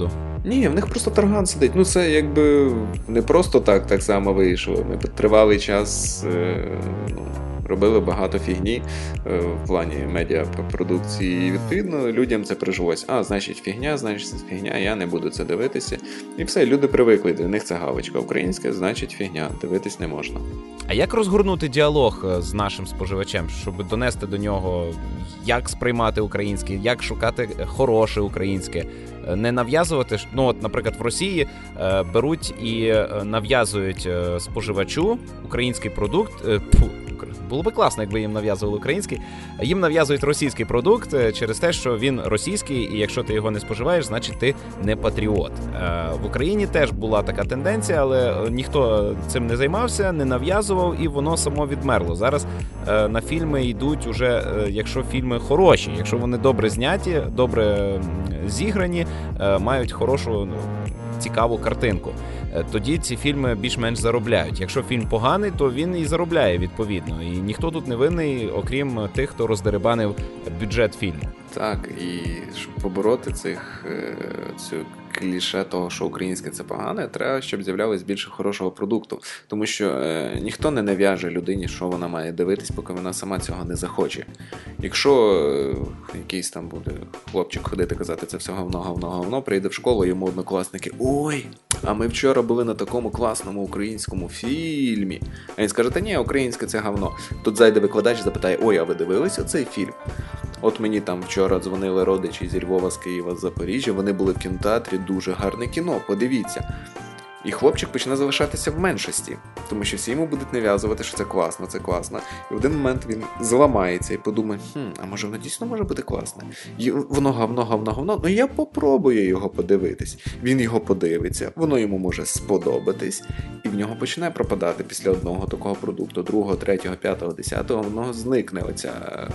Ні, в них просто тарган сидить. Ну це якби не просто так так само вийшло. Ми тривалий час е, ну, робили багато фігні е, в плані медіапродукції. І відповідно людям це прижилось. А, значить фігня, значить це фігня, я не буду це дивитися. І все, люди привикли, для них це галочка. Українська, значить фігня, дивитись не можна. А як розгорнути діалог з нашим споживачем, щоб донести до нього, як сприймати українське, як шукати хороше українське, не нав'язувати, ну от, наприклад, в Росії е, беруть і е, нав'язують е, споживачу український продукт, е, пфу, було би класно, якби їм нав'язували український, їм нав'язують російський продукт через те, що він російський, і якщо ти його не споживаєш, значить ти не патріот. В Україні теж була така тенденція, але ніхто цим не займався, не нав'язував, і воно само відмерло. Зараз на фільми йдуть уже, якщо фільми хороші, якщо вони добре зняті, добре зіграні, мають хорошу, цікаву картинку. Тоді ці фільми більш-менш заробляють. Якщо фільм поганий, то він і заробляє відповідно. І ніхто тут не винний, окрім тих, хто роздерибанив бюджет фільму. Так, і щоб побороти цих цю кліше того, що українське це погане, треба, щоб з'являлось більше хорошого продукту. Тому що е, ніхто не нав'яже людині, що вона має дивитись, поки вона сама цього не захоче. Якщо е, якийсь там буде хлопчик ходити казати, це все говно, говно, говно, прийде в школу, йому однокласники: ой, а ми вчора були на такому класному українському фільмі. А він скаже: та ні, українське це говно. Тут зайде викладач і запитає: ой, а ви дивилися цей фільм? От мені там вчора дзвонили родичі зі Львова, з Києва, з Запоріжжя, вони були в кінотеатрі, дуже гарне кіно, подивіться. І хлопчик почне залишатися в меншості, тому що всі йому будуть нав'язувати, що це класно, це класно. І в один момент він зламається і подумає: хм, а може воно дійсно може бути класне? І воно говно, говно, говно, ну я попробую його подивитись. Він його подивиться, воно йому може сподобатись, і в нього почне пропадати після одного такого продукту, другого, третього, п'ятого, десятого, воно зникне оця...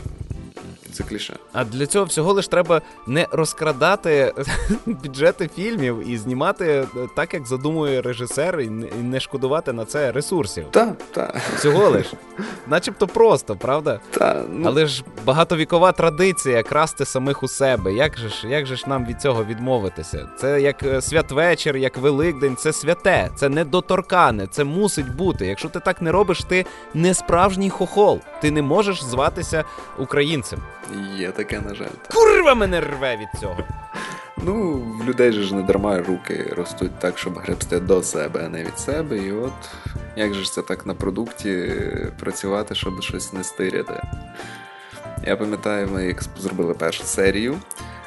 Це кліше. А для цього всього лиш треба не розкрадати бюджети фільмів і знімати так, як задумує режисер, і не шкодувати на це ресурсів. Так, так. Всього лиш. Начебто просто, правда? Та, ну... Але ж багатовікова традиція красти самих у себе. Як же ж, як же ж нам від цього відмовитися? Це як святвечір, як Великдень, це святе, це недоторкане, це мусить бути. Якщо ти так не робиш, ти не справжній хохол. Ти не можеш зватися українцем. Є таке, на жаль. Так. Курва мене рве від цього. Ну, в людей же ж не дарма руки ростуть так, щоб гребсти до себе, а не від себе. І от, як же ж це так на продукті працювати, щоб щось не стиряти. Я пам'ятаю, ми як зробили першу серію,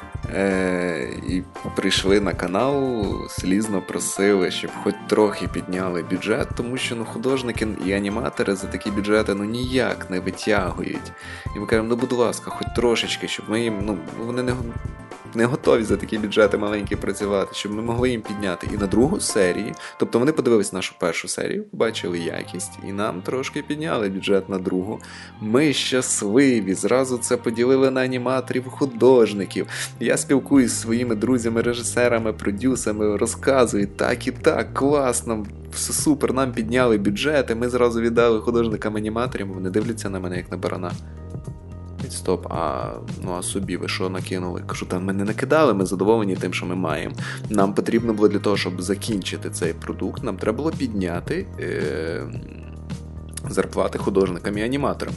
е- і прийшли на канал, слізно просили, щоб хоч трохи підняли бюджет, тому що ну, художники і аніматори за такі бюджети ну ніяк не витягують. І ми кажемо: ну будь ласка, хоч трошечки, щоб ми їм, ну вони не, не готові за такі бюджети маленькі працювати, щоб ми могли їм підняти. І на другу серію, тобто вони подивились нашу першу серію, побачили якість, і нам трошки підняли бюджет на другу. Ми щасливі, зразу це поділили на аніматорів, художників. Я спілкуюсь зі своїми друзями, режисерами, продюсерами, розказую: так і так, класно, все супер, нам підняли бюджети, ми зразу віддали художникам-аніматорам, вони дивляться на мене як на барана. Стоп, а, ну, а собі ви що накинули? Кажу: та ми не накидали, ми задоволені тим, що ми маємо. Нам потрібно було для того, щоб закінчити цей продукт, нам треба було підняти е- зарплати художникам і аніматорам.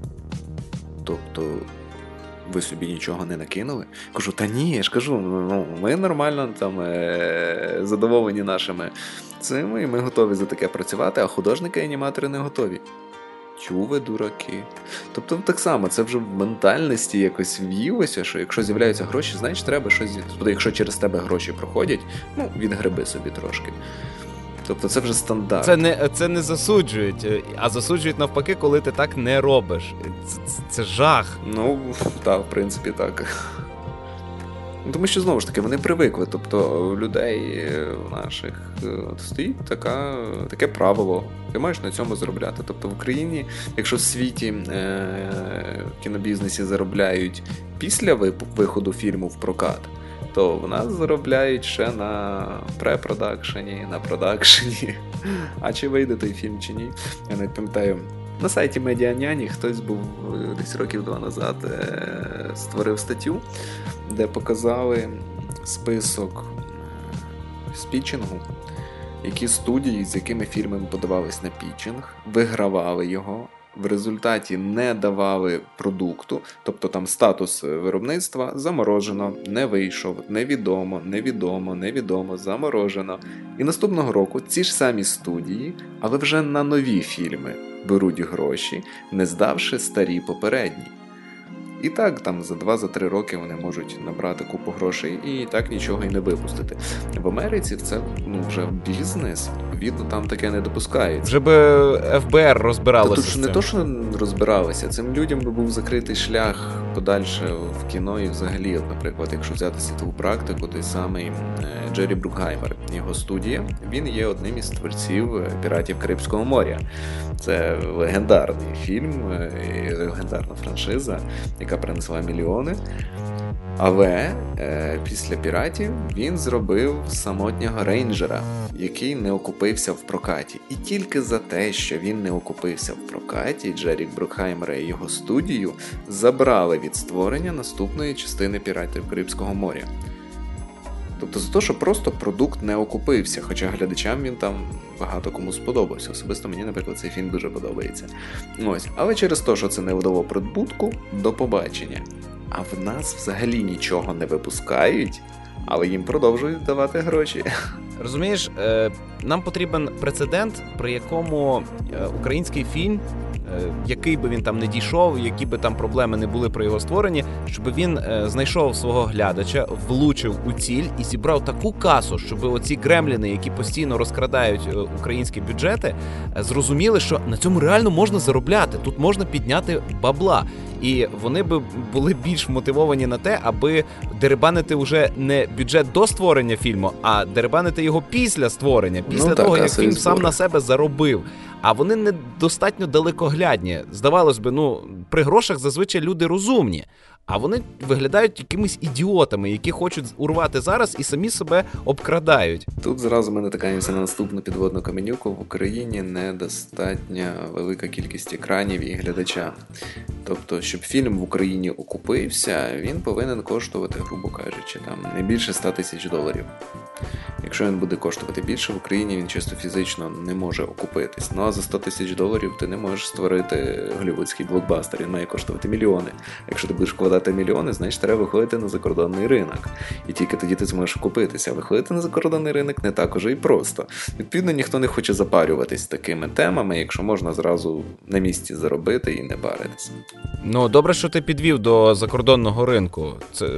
Тобто ви собі нічого не накинули? Кажу: та ні, я ж кажу, ну, ми нормально там е- задоволені нашими цими, і ми готові за таке працювати, а художники і аніматори не готові. Чу ви, дураки. Тобто так само, це вже в ментальності якось в'їлося, що якщо з'являються гроші, значить треба щось... Тобто якщо через тебе гроші проходять, ну, відгреби собі трошки. Тобто це вже стандарт. Це не, це не засуджують, а засуджують навпаки, коли ти так не робиш. Це, це, це жах. Ну, так, в принципі, так. Тому що, знову ж таки, вони привикли. Тобто у людей наших стоїть така, таке правило. Ти маєш на цьому заробляти. Тобто в Україні, якщо в світі е- кінобізнесі заробляють після виходу фільму в прокат, то в нас заробляють ще на препродакшені, на продакшені. А чи вийде той фільм, чи ні? Я не пам'ятаю. На сайті Медіаняні хтось був десь років два назад створив статтю, де показали список з пітчингу. Які студії, з якими фільмами подавались на пітчинг, вигравали його, в результаті не давали продукту, тобто там статус виробництва заморожено, не вийшов, невідомо, невідомо, невідомо, заморожено. І наступного року ці ж самі студії, але вже на нові фільми беруть гроші, не здавши старі попередні. І так, там за два-три роки вони можуть набрати купу грошей і так нічого і не випустити. В Америці це ну, вже бізнес, відповідно, там таке не допускається. Вже би еф бе ер розбиралося. Та тут ж не то, що розбиралися, цим людям би був закритий шлях подальше в кіно і взагалі, от, наприклад, якщо взяти світову практику, той самий Джері Брукхаймер, його студія, він є одним із творців «Піратів Карибського моря». Це легендарний фільм, легендарна франшиза, яка принесла мільйони. Але е, після «Піратів» він зробив «Самотнього рейнджера», який не окупився в прокаті. І тільки за те, що він не окупився в прокаті, Джері Брукхаймера і його студію забрали від створення наступної частини «Піратів Карибського моря». Тобто за те, що просто продукт не окупився, хоча глядачам він там багато кому сподобався. Особисто мені, наприклад, цей фільм дуже подобається. Ось. Але через те, що це не вдало прибутку, до побачення. А в нас взагалі нічого не випускають, але їм продовжують давати гроші. Розумієш, нам потрібен прецедент, при якому український фільм, який би він там не дійшов, які би там проблеми не були при його створенні, щоб він знайшов свого глядача, влучив у ціль і зібрав таку касу, щоб оці гремліни, які постійно розкрадають українські бюджети, зрозуміли, що на цьому реально можна заробляти, тут можна підняти бабла. І вони би були більш мотивовані на те, аби дерибанити вже не бюджет до створення фільму, а дерибанити його після створення, після ну, того, так, як фільм збори. Сам на себе заробив. А вони недостатньо далекоглядні. Здавалось би, ну, при грошах зазвичай люди розумні. А вони виглядають якимись ідіотами, які хочуть урвати зараз і самі себе обкрадають. Тут зразу ми натикаємося на наступну підводну каменюку. В Україні недостатньо велика кількість екранів і глядача. Тобто, щоб фільм в Україні окупився, він повинен коштувати, грубо кажучи, там не більше сто тисяч доларів. Якщо він буде коштувати більше, в Україні він чисто фізично не може окупитись. Ну а за сто тисяч доларів ти не можеш створити голлівудський блокбастер, він має коштувати мільйони. Якщо ти будеш вкладати мільйони, значить треба виходити на закордонний ринок. І тільки тоді ти зможеш окупитися. А виходити на закордонний ринок не так уже і просто. Відповідно, ніхто не хоче запарюватись такими темами, якщо можна зразу на місці заробити і не паритися. Ну, добре, що ти підвів до закордонного ринку. Це,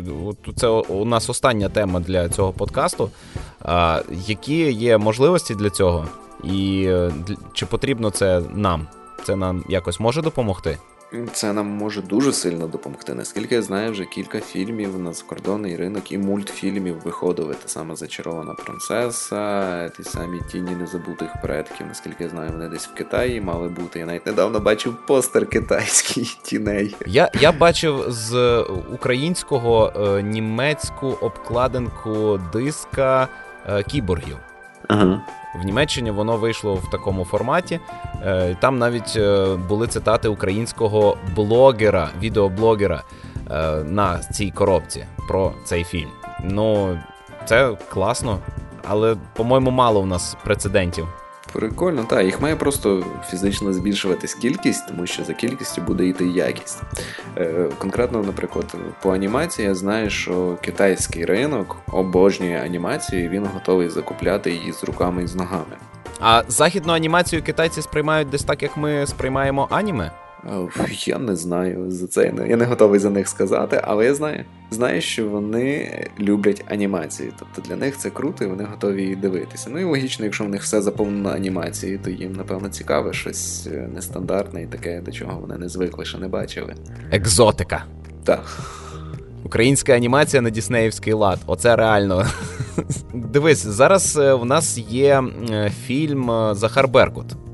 це у нас остання тема для цього подкасту. А, які є можливості для цього? І чи потрібно це нам? Це нам якось може допомогти? Це нам може дуже сильно допомогти. Наскільки я знаю, вже кілька фільмів на закордонний ринок і мультфільмів виходили. Те саме «Зачарована принцеса», ті самі «Тіні незабутих предків». Наскільки я знаю, вони десь в Китаї мали бути. Я навіть недавно бачив постер китайський «Тіней». Я, я бачив з українського е, німецьку обкладинку диска е, кіборгів. Ага. В Німеччині воно вийшло в такому форматі. Там навіть були цитати українського блогера, відеоблогера на цій коробці про цей фільм. Ну, це класно, але, по-моєму, мало в нас прецедентів. Прикольно, так, їх має просто фізично збільшуватись кількість, тому що за кількістю буде йти якість. Е, конкретно, наприклад, по анімації я знаю, що китайський ринок обожнює анімацію, і він готовий закупляти її з руками і з ногами. А західну анімацію китайці сприймають десь так, як ми сприймаємо аніме? Я не знаю, за це я не готовий за них сказати, але я знаю. Знаю, що вони люблять анімацію, тобто для них це круто і вони готові її дивитися. Ну і логічно, якщо в них все заповнено анімацією, то їм, напевно, цікаве щось нестандартне і таке, до чого вони не звикли, що не бачили. Екзотика. Так. Українська анімація на діснеївський лад. Оце реально. Дивись, зараз в нас є фільм «Захар Беркут».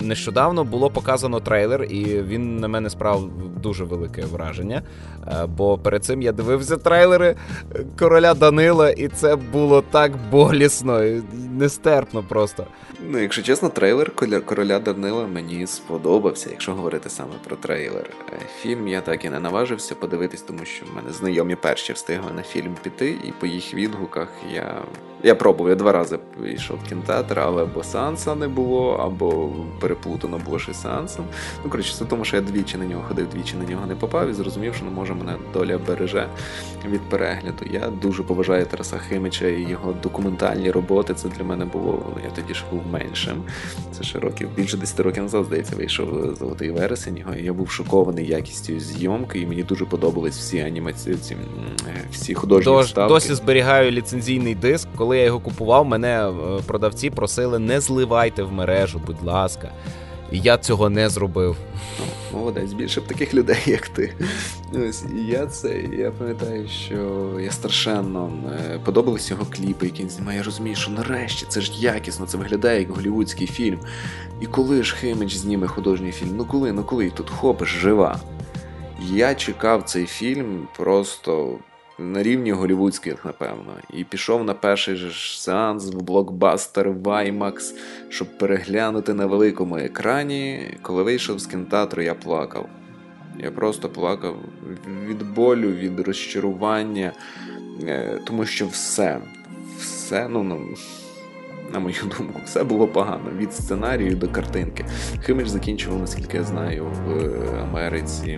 нещодавно було показано трейлер, і він на мене справив дуже велике враження. Бо перед цим я дивився трейлери Короля Данила, і це було так болісно, і нестерпно просто. Ну, якщо чесно, трейлер Короля Данила мені сподобався, якщо говорити саме про трейлер. Фільм я так і не наважився подивитись, тому що в мене знайомі перші встигли на фільм піти, і по їх відгуках я... Я пробував, я два рази йшов в кінотеатр, але або сеанса не було, або переплутано було ще сеансом. Ну, коротше, це тому, що я двічі на нього ходив, двічі на нього не попав і зрозумів, що, не може, мене доля береже від перегляду. Я дуже поважаю Тараса Химича і його документальні роботи. Це для мене було, я тоді ж був меншим. Це ще років, більше десяти років назад, здається, вийшов «Золотий вересень» його. Я був шокований якістю зйомки, і мені дуже подобались всі анімації, ці, всі художні Дож, вставки. Досі зберігаю ліцензійний диск. Коли я його купував, мене продавці просили: не зливайте в мережу, будь ласка. І я цього не зробив. Ну, молодець, більше б таких людей, як ти. Ось, і я це, я пам'ятаю, що я страшенно подобались його кліпи, які він знімає. Я розумію, що нарешті це ж якісно, це виглядає як голлівудський фільм. І коли ж Химич зніме художній фільм? Ну коли, ну коли? Тут хопиш, жива. Я чекав цей фільм просто... на рівні голлівудських, напевно. І пішов на перший ж сеанс в блокбастер в IMAX, щоб переглянути на великому екрані. Коли вийшов з кінотеатру, я плакав. Я просто плакав від болю, від розчарування, тому що все, все, ну, ну, на мою думку, все було погано. Від сценарію до картинки. Химич закінчував, наскільки я знаю, в Америці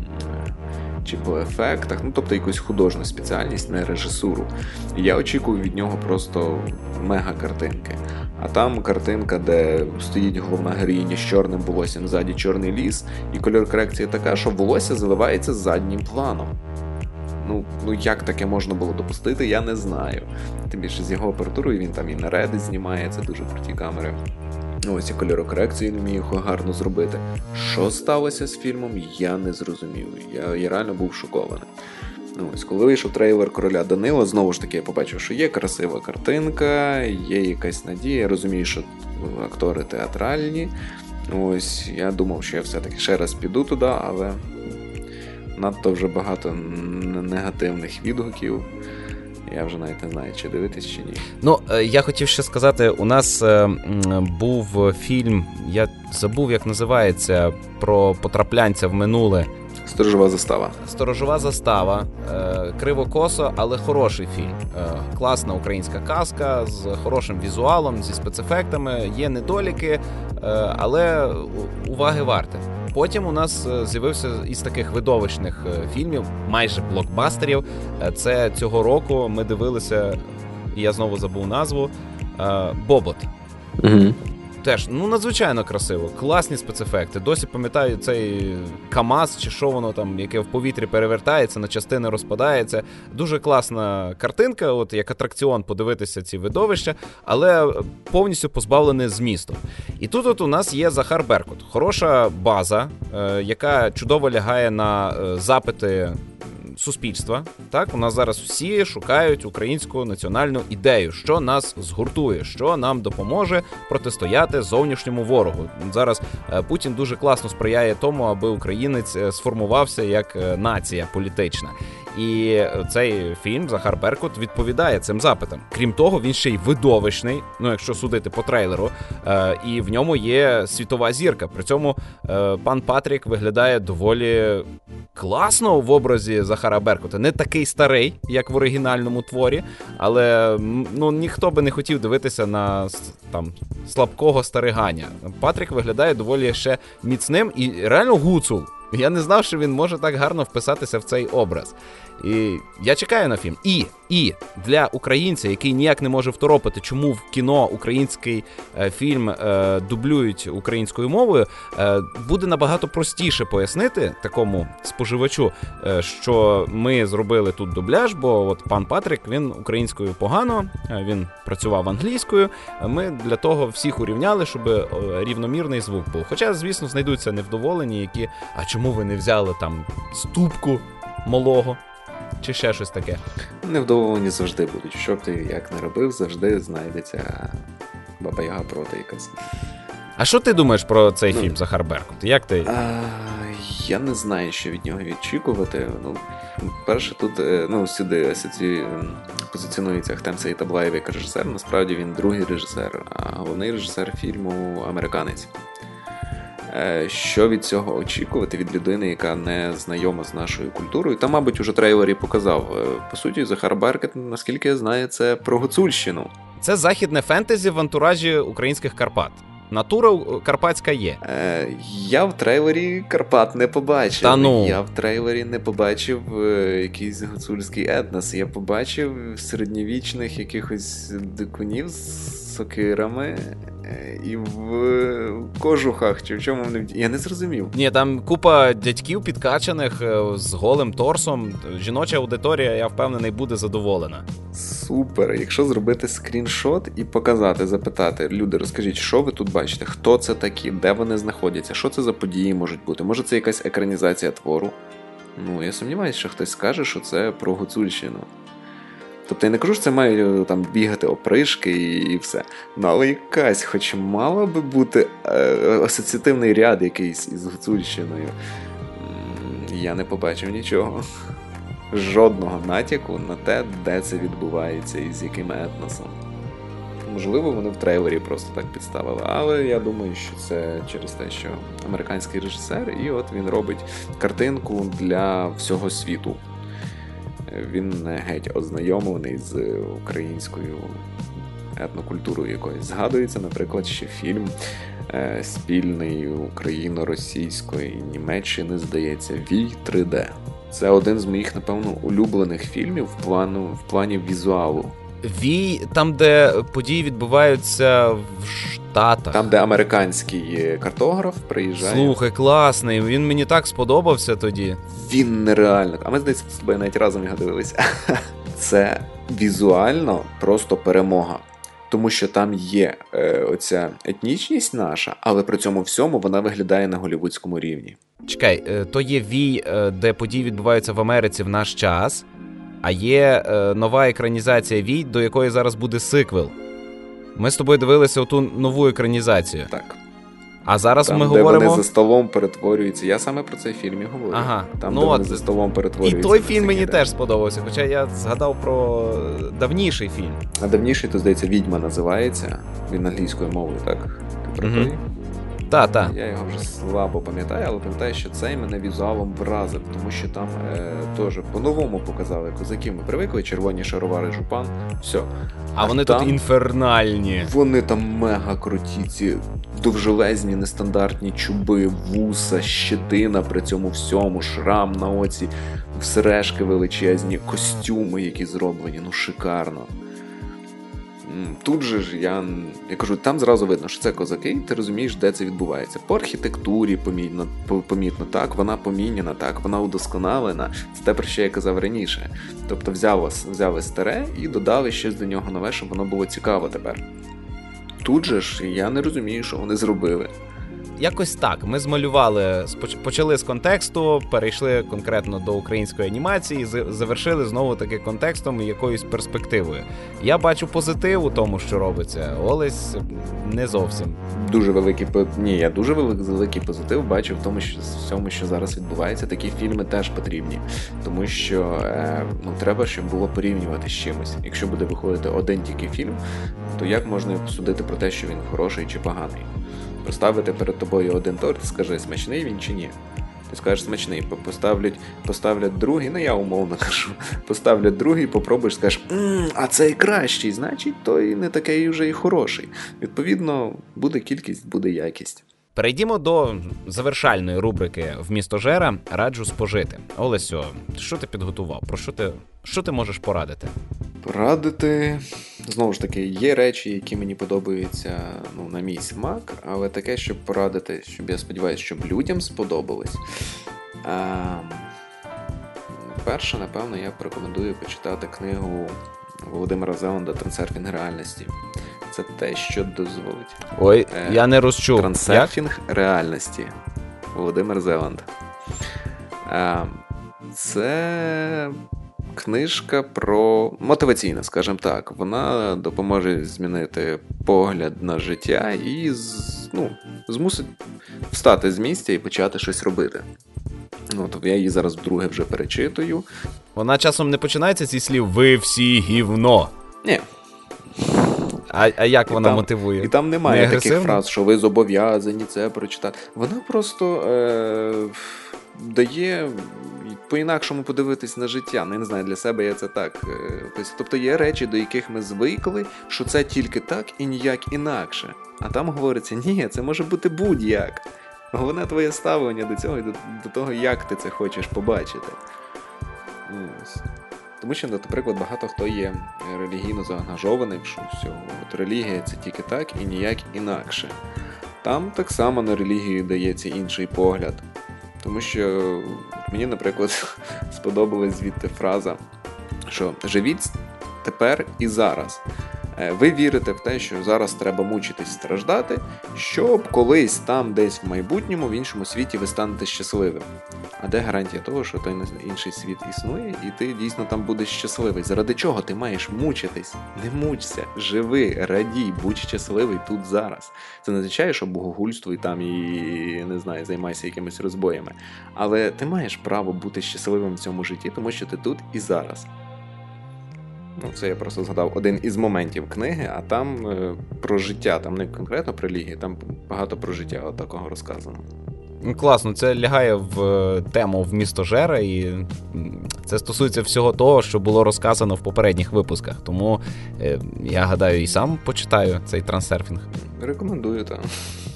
чи по ефектах, ну, тобто якусь художню спеціальність, не режисуру. І я очікував від нього просто мега-картинки. А там картинка, де стоїть головна героїня з чорним волоссям, ззаді чорний ліс, і кольор корекції така, що волосся заливається заднім планом. Ну, ну як таке можна було допустити, я не знаю. Тим більше з його апаратурою, він там і на Reddit знімає, це дуже круті камери. Ось і кольорокорекцію не міг гарно зробити. Що сталося з фільмом, я не зрозумів. Я, я реально був шокований. Ось, коли вийшов трейлер Короля Данила, знову ж таки я побачив, що є красива картинка, є якась надія. Я розумію, що актори театральні. Ось, я думав, що я все-таки ще раз піду туди, але надто вже багато негативних відгуків. Я вже навіть не знаю, чи дивитись, чи ні. Ну, я хотів ще сказати, у нас е, був фільм, я забув, як називається, про потраплянця в минуле. «Сторожова застава». «Сторожова застава». Е, криво-косо, але хороший фільм. Е, класна українська казка з хорошим візуалом, зі спецефектами. Є недоліки, е, але уваги варте. Потім у нас з'явився із таких видовищних фільмів, майже блокбастерів. Це цього року ми дивилися, і я знову забув назву, «Бобот». Угу. Теж, ну, надзвичайно красиво, класні спецефекти. Досі пам'ятаю цей КАМАЗ, чи що воно там, яке в повітрі перевертається, на частини розпадається. Дуже класна картинка, от як атракціон подивитися ці видовища, але повністю позбавлене змісту. І тут от у нас є Захар Беркут. Хороша база, е, яка чудово лягає на е, запити суспільства. Так, у нас зараз всі шукають українську національну ідею, що нас згуртує, що нам допоможе протистояти зовнішньому ворогу. Зараз Путін дуже класно сприяє тому, аби українець сформувався як нація політична. І цей фільм «Захар Беркут» відповідає цим запитам. Крім того, він ще й видовищний, ну якщо судити по трейлеру, е, і в ньому є світова зірка. При цьому е, пан Патрік виглядає доволі класно в образі Захара Беркута. Не такий старий, як в оригінальному творі, але ну, ніхто би не хотів дивитися на там слабкого стариганя. Патрік виглядає доволі ще міцним і реально гуцул. Я не знав, що він може так гарно вписатися в цей образ. І я чекаю на фільм. І, і для українця, який ніяк не може второпити, чому в кіно український е, фільм е, дублюють українською мовою, е, буде набагато простіше пояснити такому споживачу, е, що ми зробили тут дубляж, бо от пан Патрік, він українською погано, е, він працював англійською. Ми для того всіх урівняли, щоб е, рівномірний звук був. Хоча, звісно, знайдуться невдоволені, які, а чому ви не взяли там ступку малого? Чи ще щось таке? Невдоволені завжди будуть. Що б ти як не робив, завжди знайдеться баба-яга проти якась. А що ти думаєш про цей ну, фільм «Захар Беркут»? Як ти? А, я не знаю, що від нього відчікувати. Ну, перше, тут ну, сюди асоці... позиціонується Ахтем Сеїтаблаєв як режисер. Насправді він другий режисер, а головний режисер фільму «Американець». Що від цього очікувати від людини, яка не знайома з нашою культурою? Та, мабуть, уже трейлер і показав. По суті, Захар Беркут, наскільки я знаю, це про Гуцульщину. Це західне фентезі в антуражі українських Карпат. Натура карпатська є. Е, я в трейлері Карпат не побачив. Та ну. Я в трейлері не побачив е, якийсь гуцульський етнос. Я побачив середньовічних якихось дикунів з сокирами е, і в кожухах, чи в чому вони... Я не зрозумів. Ні, там купа дядьків підкачаних з голим торсом. Жіноча аудиторія, я впевнений, буде задоволена. Супер. Якщо зробити скріншот і показати, запитати, люди, розкажіть, що ви тут бачите, хто це такі, де вони знаходяться, що це за події можуть бути, може це якась екранізація твору? Ну, я сумніваюся, що хтось скаже, що це про Гуцульщину. Тобто я не кажу, що це мають там бігати опришки і, і все. Ну, але якась, хоч мала би бути е, асоціативний ряд якийсь із Гуцульщиною. Я не побачив нічого. Жодного натяку на те, де це відбувається і з яким етносом. Можливо, вони в трейлері просто так підставили, але я думаю, що це через те, що американський режисер, і от він робить картинку для всього світу. Він не геть ознайомлений з українською етнокультурою якоюсь. Згадується, наприклад, ще фільм е, спільний україно-російської Німеччини, здається, «Вій три де». Це один з моїх, напевно, улюблених фільмів в, плану, в плані візуалу. «Вій» там, де події відбуваються в Штатах. Там, де американський картограф приїжджає. Слухай, класний, він мені так сподобався тоді. Він нереально. А ми, здається, з тобою навіть разом його дивилися. Це візуально просто перемога. Тому що там є е, оця етнічність наша, але при цьому всьому вона виглядає на голлівудському рівні. Чекай, то є «Вій», де події відбуваються в Америці в наш час, а є е, нова екранізація «Вій», до якої зараз буде сиквел. Ми з тобою дивилися оту нову екранізацію. Так. А зараз там, ми де говоримо... вони за столом перетворюються. Я саме про цей фільм і говорю. Ага. Там, ну, де от... вони за столом перетворюються. І той фільм мені теж сподобався, хоча я згадав про давніший фільм. А давніший, то, здається, «Відьма» називається. Він англійською мовою, так? Ти про той? Так, так. Я його вже слабо пам'ятаю, але пам'ятаю, що цей мене візуалом вразив, тому що там е, теж по-новому показали козаків. Ми привикли, червоні шаровари, жупан, все. А, а вони там, тут інфернальні. Вони там мега круті, ці довжелезні, нестандартні чуби, вуса, щетина при цьому всьому, шрам на оці, сережки величезні, костюми, які зроблені, ну шикарно. Тут же ж я, я кажу, там зразу видно, що це козаки, ти розумієш, де це відбувається. По архітектурі помітно, помітно так, вона поміняна, так, вона удосконалена. Це те, про що я казав раніше. Тобто взяли, взяли старе і додали щось до нього нове, щоб воно було цікаво тепер. Тут же ж я не розумію, що вони зробили. Якось так. Ми змалювали, почали з контексту, перейшли конкретно до української анімації, завершили знову-таки контекстом і якоюсь перспективою. Я бачу позитив у тому, що робиться. Олесь не зовсім. Дуже великий, ні, я дуже великий позитив бачу в тому, що всьому, що зараз відбувається. Такі фільми теж потрібні. Тому що е, ну, треба, щоб було порівнювати з чимось. Якщо буде виходити один тільки фільм, то як можна судити про те, що він хороший чи поганий? Поставити перед тобою один торт, скажи, смачний він чи ні. Ти скажеш смачний, поставлять, поставлять другий, ну я умовно кажу, поставлять другий, попробуєш, скажеш, ммм, а цей кращий, значить той не такий вже і хороший. Відповідно, буде кількість, буде якість. Перейдімо до завершальної рубрики «Вмістожера. Раджу спожити». Олесю, що ти підготував? Про що ти, що ти можеш порадити? Порадити... Знову ж таки, є речі, які мені подобаються ну, на мій смак, але таке, щоб порадити, щоб я сподіваюся, щоб людям сподобалось. А, перше, напевно, я порекомендую почитати книгу Володимира Зеланда «Трансерфінг реальності». Це те, що дозволить. Ой, е, я не розчув. «Трансерфінг реальності». Володимир Зеланд. А, це... Книжка про мотиваційна, скажімо так. Вона допоможе змінити погляд на життя і ну, змусить встати з місця і почати щось робити. От, я її зараз вдруге вже перечитую. Вона часом не починається зі слів «ви всі гівно». Ні. А, а як і вона там, мотивує? І там немає не таких фраз, що ви зобов'язані це прочитати. Вона просто е- дає по-інакшому подивитись на життя. Ну, я не знаю, для себе я це так е- Тобто є речі, до яких ми звикли, що це тільки так і ніяк інакше. А там говориться, ні, це може бути будь-як. Головне твоє ставлення до цього і до, до того, як ти це хочеш побачити. Ось. Тому що, наприклад, багато хто є релігійно заангажованим, що все, от релігія це тільки так і ніяк інакше. Там так само на релігію дається інший погляд. Тому що мені, наприклад, сподобалась звідти фраза, що живіть тепер і зараз. Ви вірите в те, що зараз треба мучитись, страждати, щоб колись там, десь в майбутньому, в іншому світі ви станете щасливим. А де гарантія того, що той інший світ існує, і ти дійсно там будеш щасливий? Заради чого ти маєш мучитись? Не мучся, живи, радій, будь щасливий тут зараз. Це не означає, що богогульствуй там і, не знаю, займайся якимись розбоями. Але ти маєш право бути щасливим в цьому житті, тому що ти тут і зараз. Ну, це я просто згадав один із моментів книги, а там е, про життя, там не конкретно про релігію, там багато про життя от такого розказано. Класно, це лягає в тему вмістожера, і це стосується всього того, що було розказано в попередніх випусках. Тому е, я гадаю, і сам почитаю цей трансерфінг. Рекомендую, так.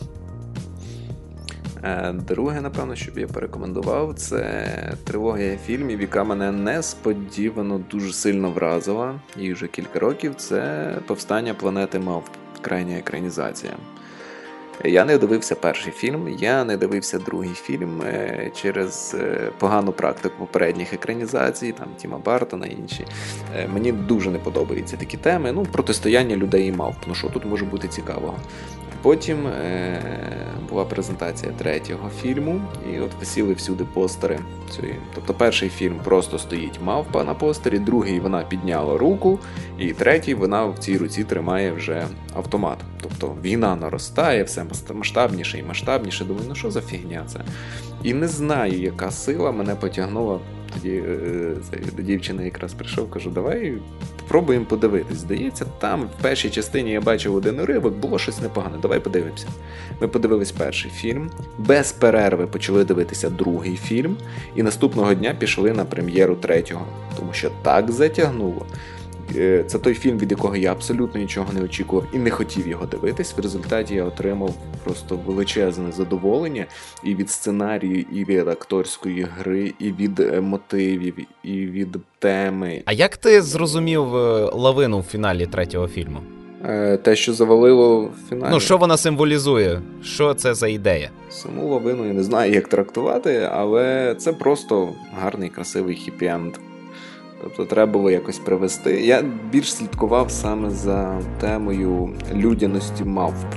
Друге, напевно, що б я порекомендував, це трилогія фільмів, яка мене несподівано дуже сильно вразила, і вже кілька років, це «Повстання планети Мавп», крайня екранізація. Я не дивився перший фільм, я не дивився другий фільм через погану практику попередніх екранізацій, там Тіма Бартона і інші. Мені дуже не подобаються такі теми, ну, протистояння людей і мавп, ну що тут може бути цікавого. Потім е- була презентація третього фільму, і от висіли всюди постери. Цієї. Тобто перший фільм просто стоїть мавпа на постері, другий вона підняла руку, і третій вона в цій руці тримає вже автомат. Тобто війна наростає, все масштабніше і масштабніше. Думаю, ну що за фігня це? І не знаю, яка сила мене потягнула. Тоді е- до дівчини якраз прийшов, кажу, давай спробуємо подивитись. Здається, там в першій частині я бачив один уривок, було щось непогане. Давай подивимося. Ми подивились перший фільм, без перерви почали дивитися другий фільм, і наступного дня пішли на прем'єру третього. Тому що так затягнуло. Це той фільм, від якого я абсолютно нічого не очікував і не хотів його дивитись. В результаті я отримав просто величезне задоволення і від сценарію, і від акторської гри, і від мотивів, і від теми. А як ти зрозумів лавину в фіналі третього фільму? Те, що завалило в фіналі. Ну, що вона символізує? Що це за ідея? Саму лавину я не знаю, як трактувати, але це просто гарний, красивий хіппі-енд. Тобто треба було якось привести. Я більш слідкував саме за темою людяності мавп.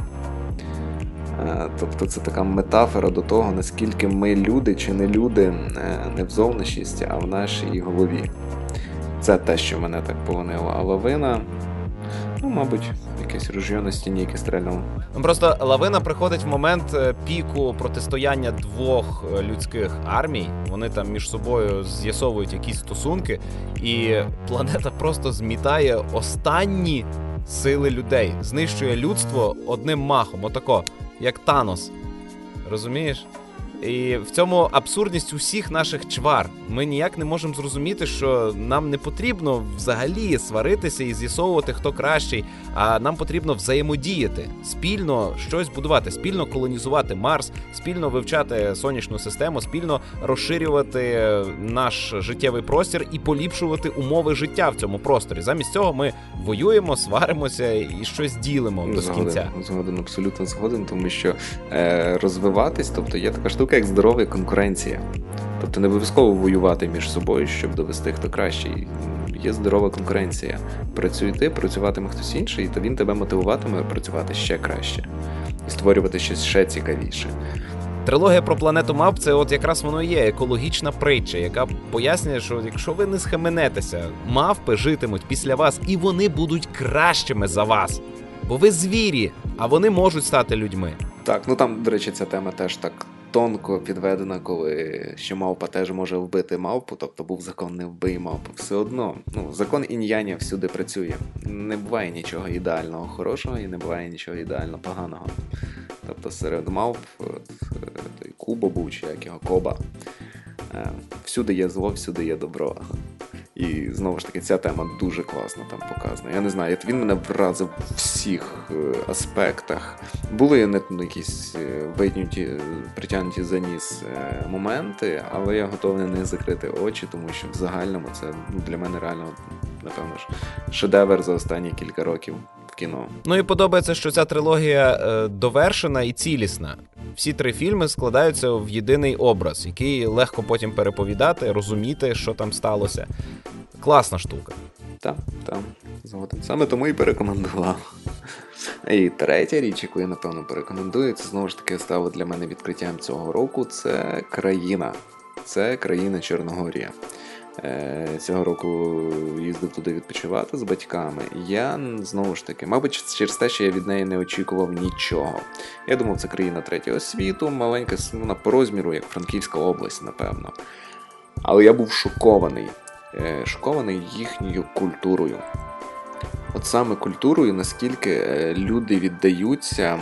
Тобто це така метафора до того, наскільки ми люди чи не люди не в зовнішності, а в нашій голові. Це те, що мене так полонило. А лавина, ну, мабуть, якесь ружьо на стіні, яке стрельнуло. Просто лавина приходить в момент піку протистояння двох людських армій. Вони там між собою з'ясовують якісь стосунки, і планета просто змітає останні сили людей. Знищує людство одним махом, отако, як Танос. Розумієш? І в цьому абсурдність усіх наших чвар. Ми ніяк не можемо зрозуміти, що нам не потрібно взагалі сваритися і з'ясовувати, хто кращий, а нам потрібно взаємодіяти, спільно щось будувати, спільно колонізувати Марс, спільно вивчати сонячну систему, спільно розширювати наш життєвий простір і поліпшувати умови життя в цьому просторі. Замість цього ми воюємо, сваримося і щось ділимо без згоден, кінця. Згоден, абсолютно згоден, тому що е, розвиватись, тобто є така штука, як здорова конкуренція. Тобто не обов'язково воювати між собою, щоб довести, хто кращий. Є здорова конкуренція. Працюй ти, працюватиме хтось інший, то він тебе мотивуватиме працювати ще краще. І створювати щось ще цікавіше. Трилогія про планету мавп – це от якраз воно є екологічна притча, яка пояснює, що якщо ви не схаменетеся, мавпи житимуть після вас, і вони будуть кращими за вас. Бо ви звірі, а вони можуть стати людьми. Так, ну там, до речі, ця тема теж так тонко підведена, коли що мавпа теж може вбити мавпу, тобто був закон не вбий мавпу. Все одно, ну, закон інь-яня всюди працює. Не буває нічого ідеального хорошого і не буває нічого ідеально поганого. Тобто серед мавп, той Куба був, чи як його, Коба, всюди є зло, всюди є добро. І, знову ж таки, ця тема дуже класно там показана. Я не знаю, він мене вразив в всіх е, аспектах. Були не, ну, якісь витягнуті, притягнуті за ніс е, моменти, але я готовий на них закрити очі, тому що в загальному це ну, для мене реально, напевно ж, шедевр за останні кілька років в кіно. Ну і подобається, що ця трилогія е, довершена і цілісна. Всі три фільми складаються в єдиний образ, який легко потім переповідати, розуміти, що там сталося. Класна штука. Так, так, згоден. Саме тому і порекомендував. І третя річ, яку я, напевно, порекомендую, це, знову ж таки, стало для мене відкриттям цього року, це країна. Це країна Чорногорія. Цього року їздив туди відпочивати з батьками. Я, знову ж таки, мабуть, через те, що я від неї не очікував нічого. Я думав, це країна третього світу, маленька, вона по розміру, як Франківська область, напевно. Але я був шокований. Шокований їхньою культурою. От саме культурою, наскільки люди віддаються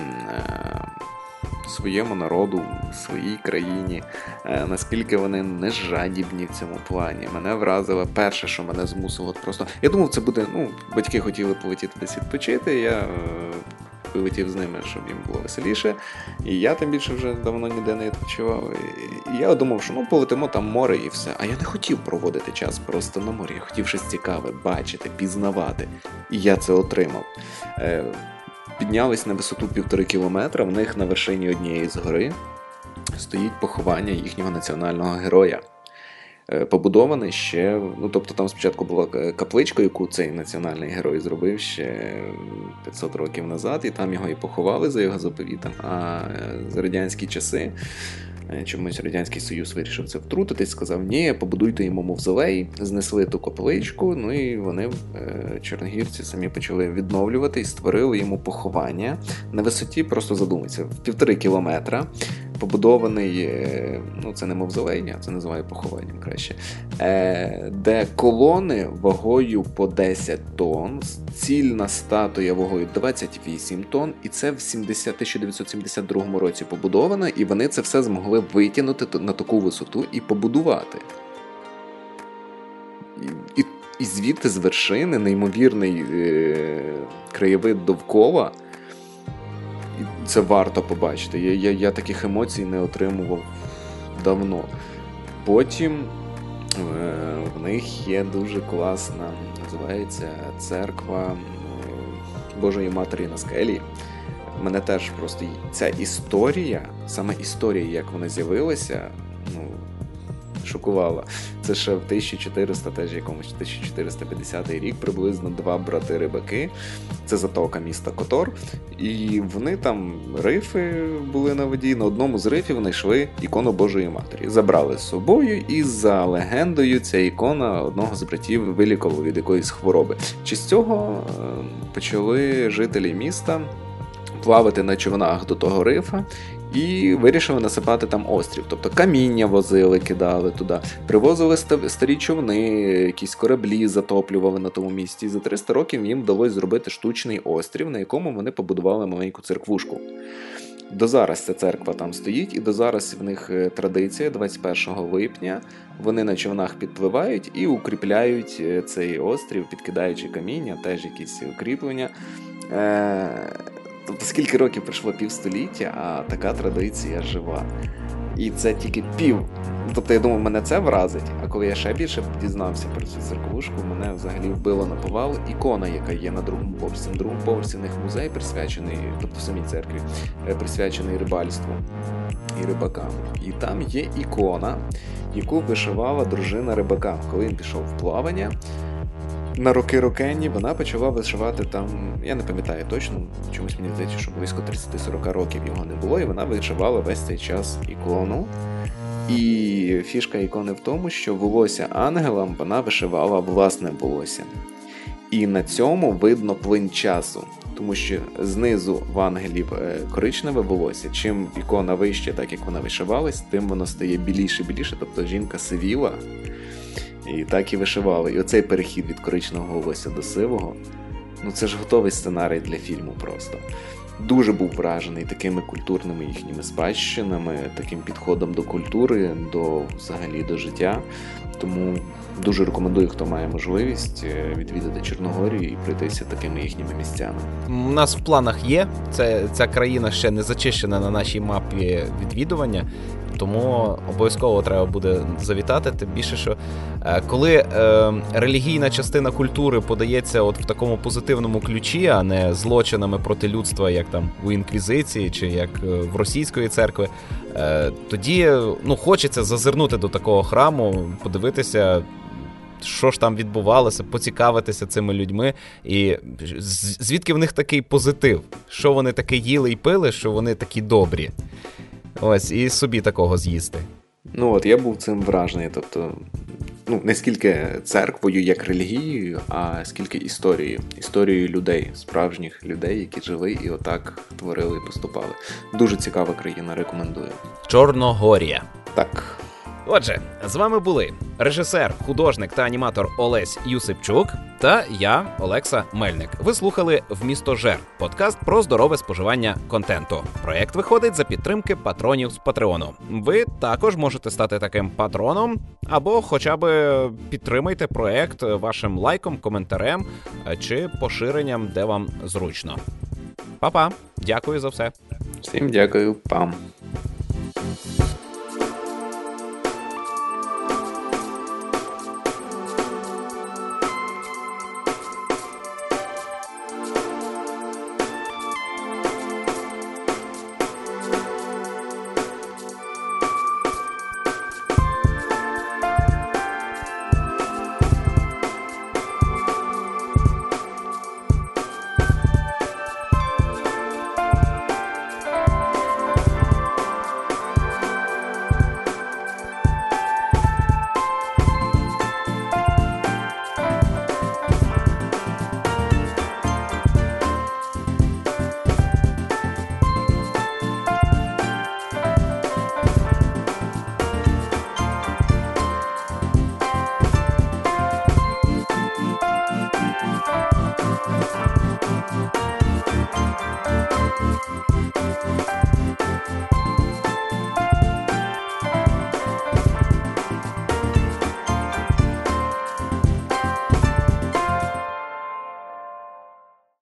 своєму народу, своїй країні, наскільки вони не жадібні в цьому плані. Мене вразило перше, що мене змусило просто... Я думав, це буде, ну, батьки хотіли полетіти десь відпочити, я вилетів з ними, щоб їм було веселіше, і я тим більше вже давно ніде не відпочивав. І я думав, що ну полетимо там море і все. А я не хотів проводити час просто на морі, я хотів щось цікаве, бачити, пізнавати. І я це отримав. Піднялись на висоту півтори кілометра, в них на вершині однієї з гори стоїть поховання їхнього національного героя. Побудований ще, ну тобто там спочатку була капличка, яку цей національний герой зробив ще п'ятсот років назад, і там його і поховали за його заповітом, а за радянські часи чомусь Радянський Союз вирішив це втрутитись, сказав, ні, побудуйте йому мавзолей, знесли ту капличку, ну і вони, чорногірці, самі почали відновлювати і створили йому поховання на висоті, просто задумайся, в півтори кілометра, побудований, ну це не мавзолей, а це називаю похованням краще, де колони вагою по десять тонн, цільна статуя вагою двадцять вісім тонн, і це в тисяча дев'ятсот сімдесят другому році побудовано, і вони це все змогли витягнути на таку висоту і побудувати. І, і, і звідти з вершини неймовірний е, краєвид довкола. Це варто побачити. Я, я, я таких емоцій не отримував давно. Потім е, в них є дуже класна, називається церква Божої Матері на скелі. Мене теж просто ця історія, саме історія, як вона з'явилася, ну, шокувала. Це ще в тисяча чотириста, теж якомусь тисяча чотириста п'ятдесятий рік, приблизно два брати-рибаки. Це затока міста Котор. І вони там, рифи були на воді, на одному з рифів знайшли ікону Божої Матері. Забрали з собою, і за легендою ця ікона одного з братів вилікувала від якоїсь хвороби. Чи з цього почали жителі міста плавати на човнах до того рифа і вирішили насипати там острів. Тобто каміння возили, кидали туди, привозили старі човни, якісь кораблі затоплювали на тому місці. І за триста років їм вдалося зробити штучний острів, на якому вони побудували маленьку церквушку. До зараз ця церква там стоїть, і до зараз в них традиція, двадцять першого липня вони на човнах підпливають і укріпляють цей острів, підкидаючи каміння, теж якісь укріплення. Тобто скільки років пройшло, півстоліття, а така традиція жива. І це тільки пів. Тобто я думав, мене це вразить, а коли я ще більше дізнався про цю церквушку, мене взагалі вбило на повал ікона, яка є на другому поверсі. На другому поверсі в них музей присвячений, тобто в самій церкві, присвячений рибальству і рибакам. І там є ікона, яку вишивала дружина рибака, коли він пішов в плавання. На роки-рокенні вона почала вишивати там, я не пам'ятаю точно, чомусь мені здається, що близько тридцять-сорок років його не було, і вона вишивала весь цей час ікону. І фішка ікони в тому, що волосся ангелам вона вишивала власне волосся. І на цьому видно плин часу. Тому що знизу в ангелів коричневе волосся. Чим ікона вище, так як вона вишивалась, тим воно стає біліше-біліше. Тобто жінка сивіла і так і вишивала. І оцей перехід від коричневого волосся до сивого, ну це ж готовий сценарій для фільму просто. Дуже був вражений такими культурними їхніми спадщинами, таким підходом до культури, до взагалі до життя. Тому дуже рекомендую, хто має можливість відвідати Чорногорію і пройтися такими їхніми місцями. У нас в планах є, це, ця країна ще не зачищена на нашій мапі відвідування, тому обов'язково треба буде завітати, тим більше, що е, коли е, релігійна частина культури подається от в такому позитивному ключі, а не злочинами проти людства, як там у Інквізиції чи як в Російської церкви, е, тоді ну, хочеться зазирнути до такого храму, подивитися, що ж там відбувалося, поцікавитися цими людьми, і звідки в них такий позитив, що вони таке їли і пили, що вони такі добрі. Ось, і собі такого з'їсти. Ну от, я був цим вражений, тобто, ну, не скільки церквою як релігією, а скільки історією. Історією людей, справжніх людей, які жили і отак творили і поступали. Дуже цікава країна, рекомендую. Чорногорія. Так. Отже, з вами були режисер, художник та аніматор Олесь Юсипчук та я, Олекса Мельник. Ви слухали «Вмістожер» – подкаст про здорове споживання контенту. Проєкт виходить за підтримки патронів з Патреону. Ви також можете стати таким патроном або хоча б підтримайте проєкт вашим лайком, коментарем чи поширенням, де вам зручно. Па-па! Дякую за все. Всім дякую, пам! We'll be right back.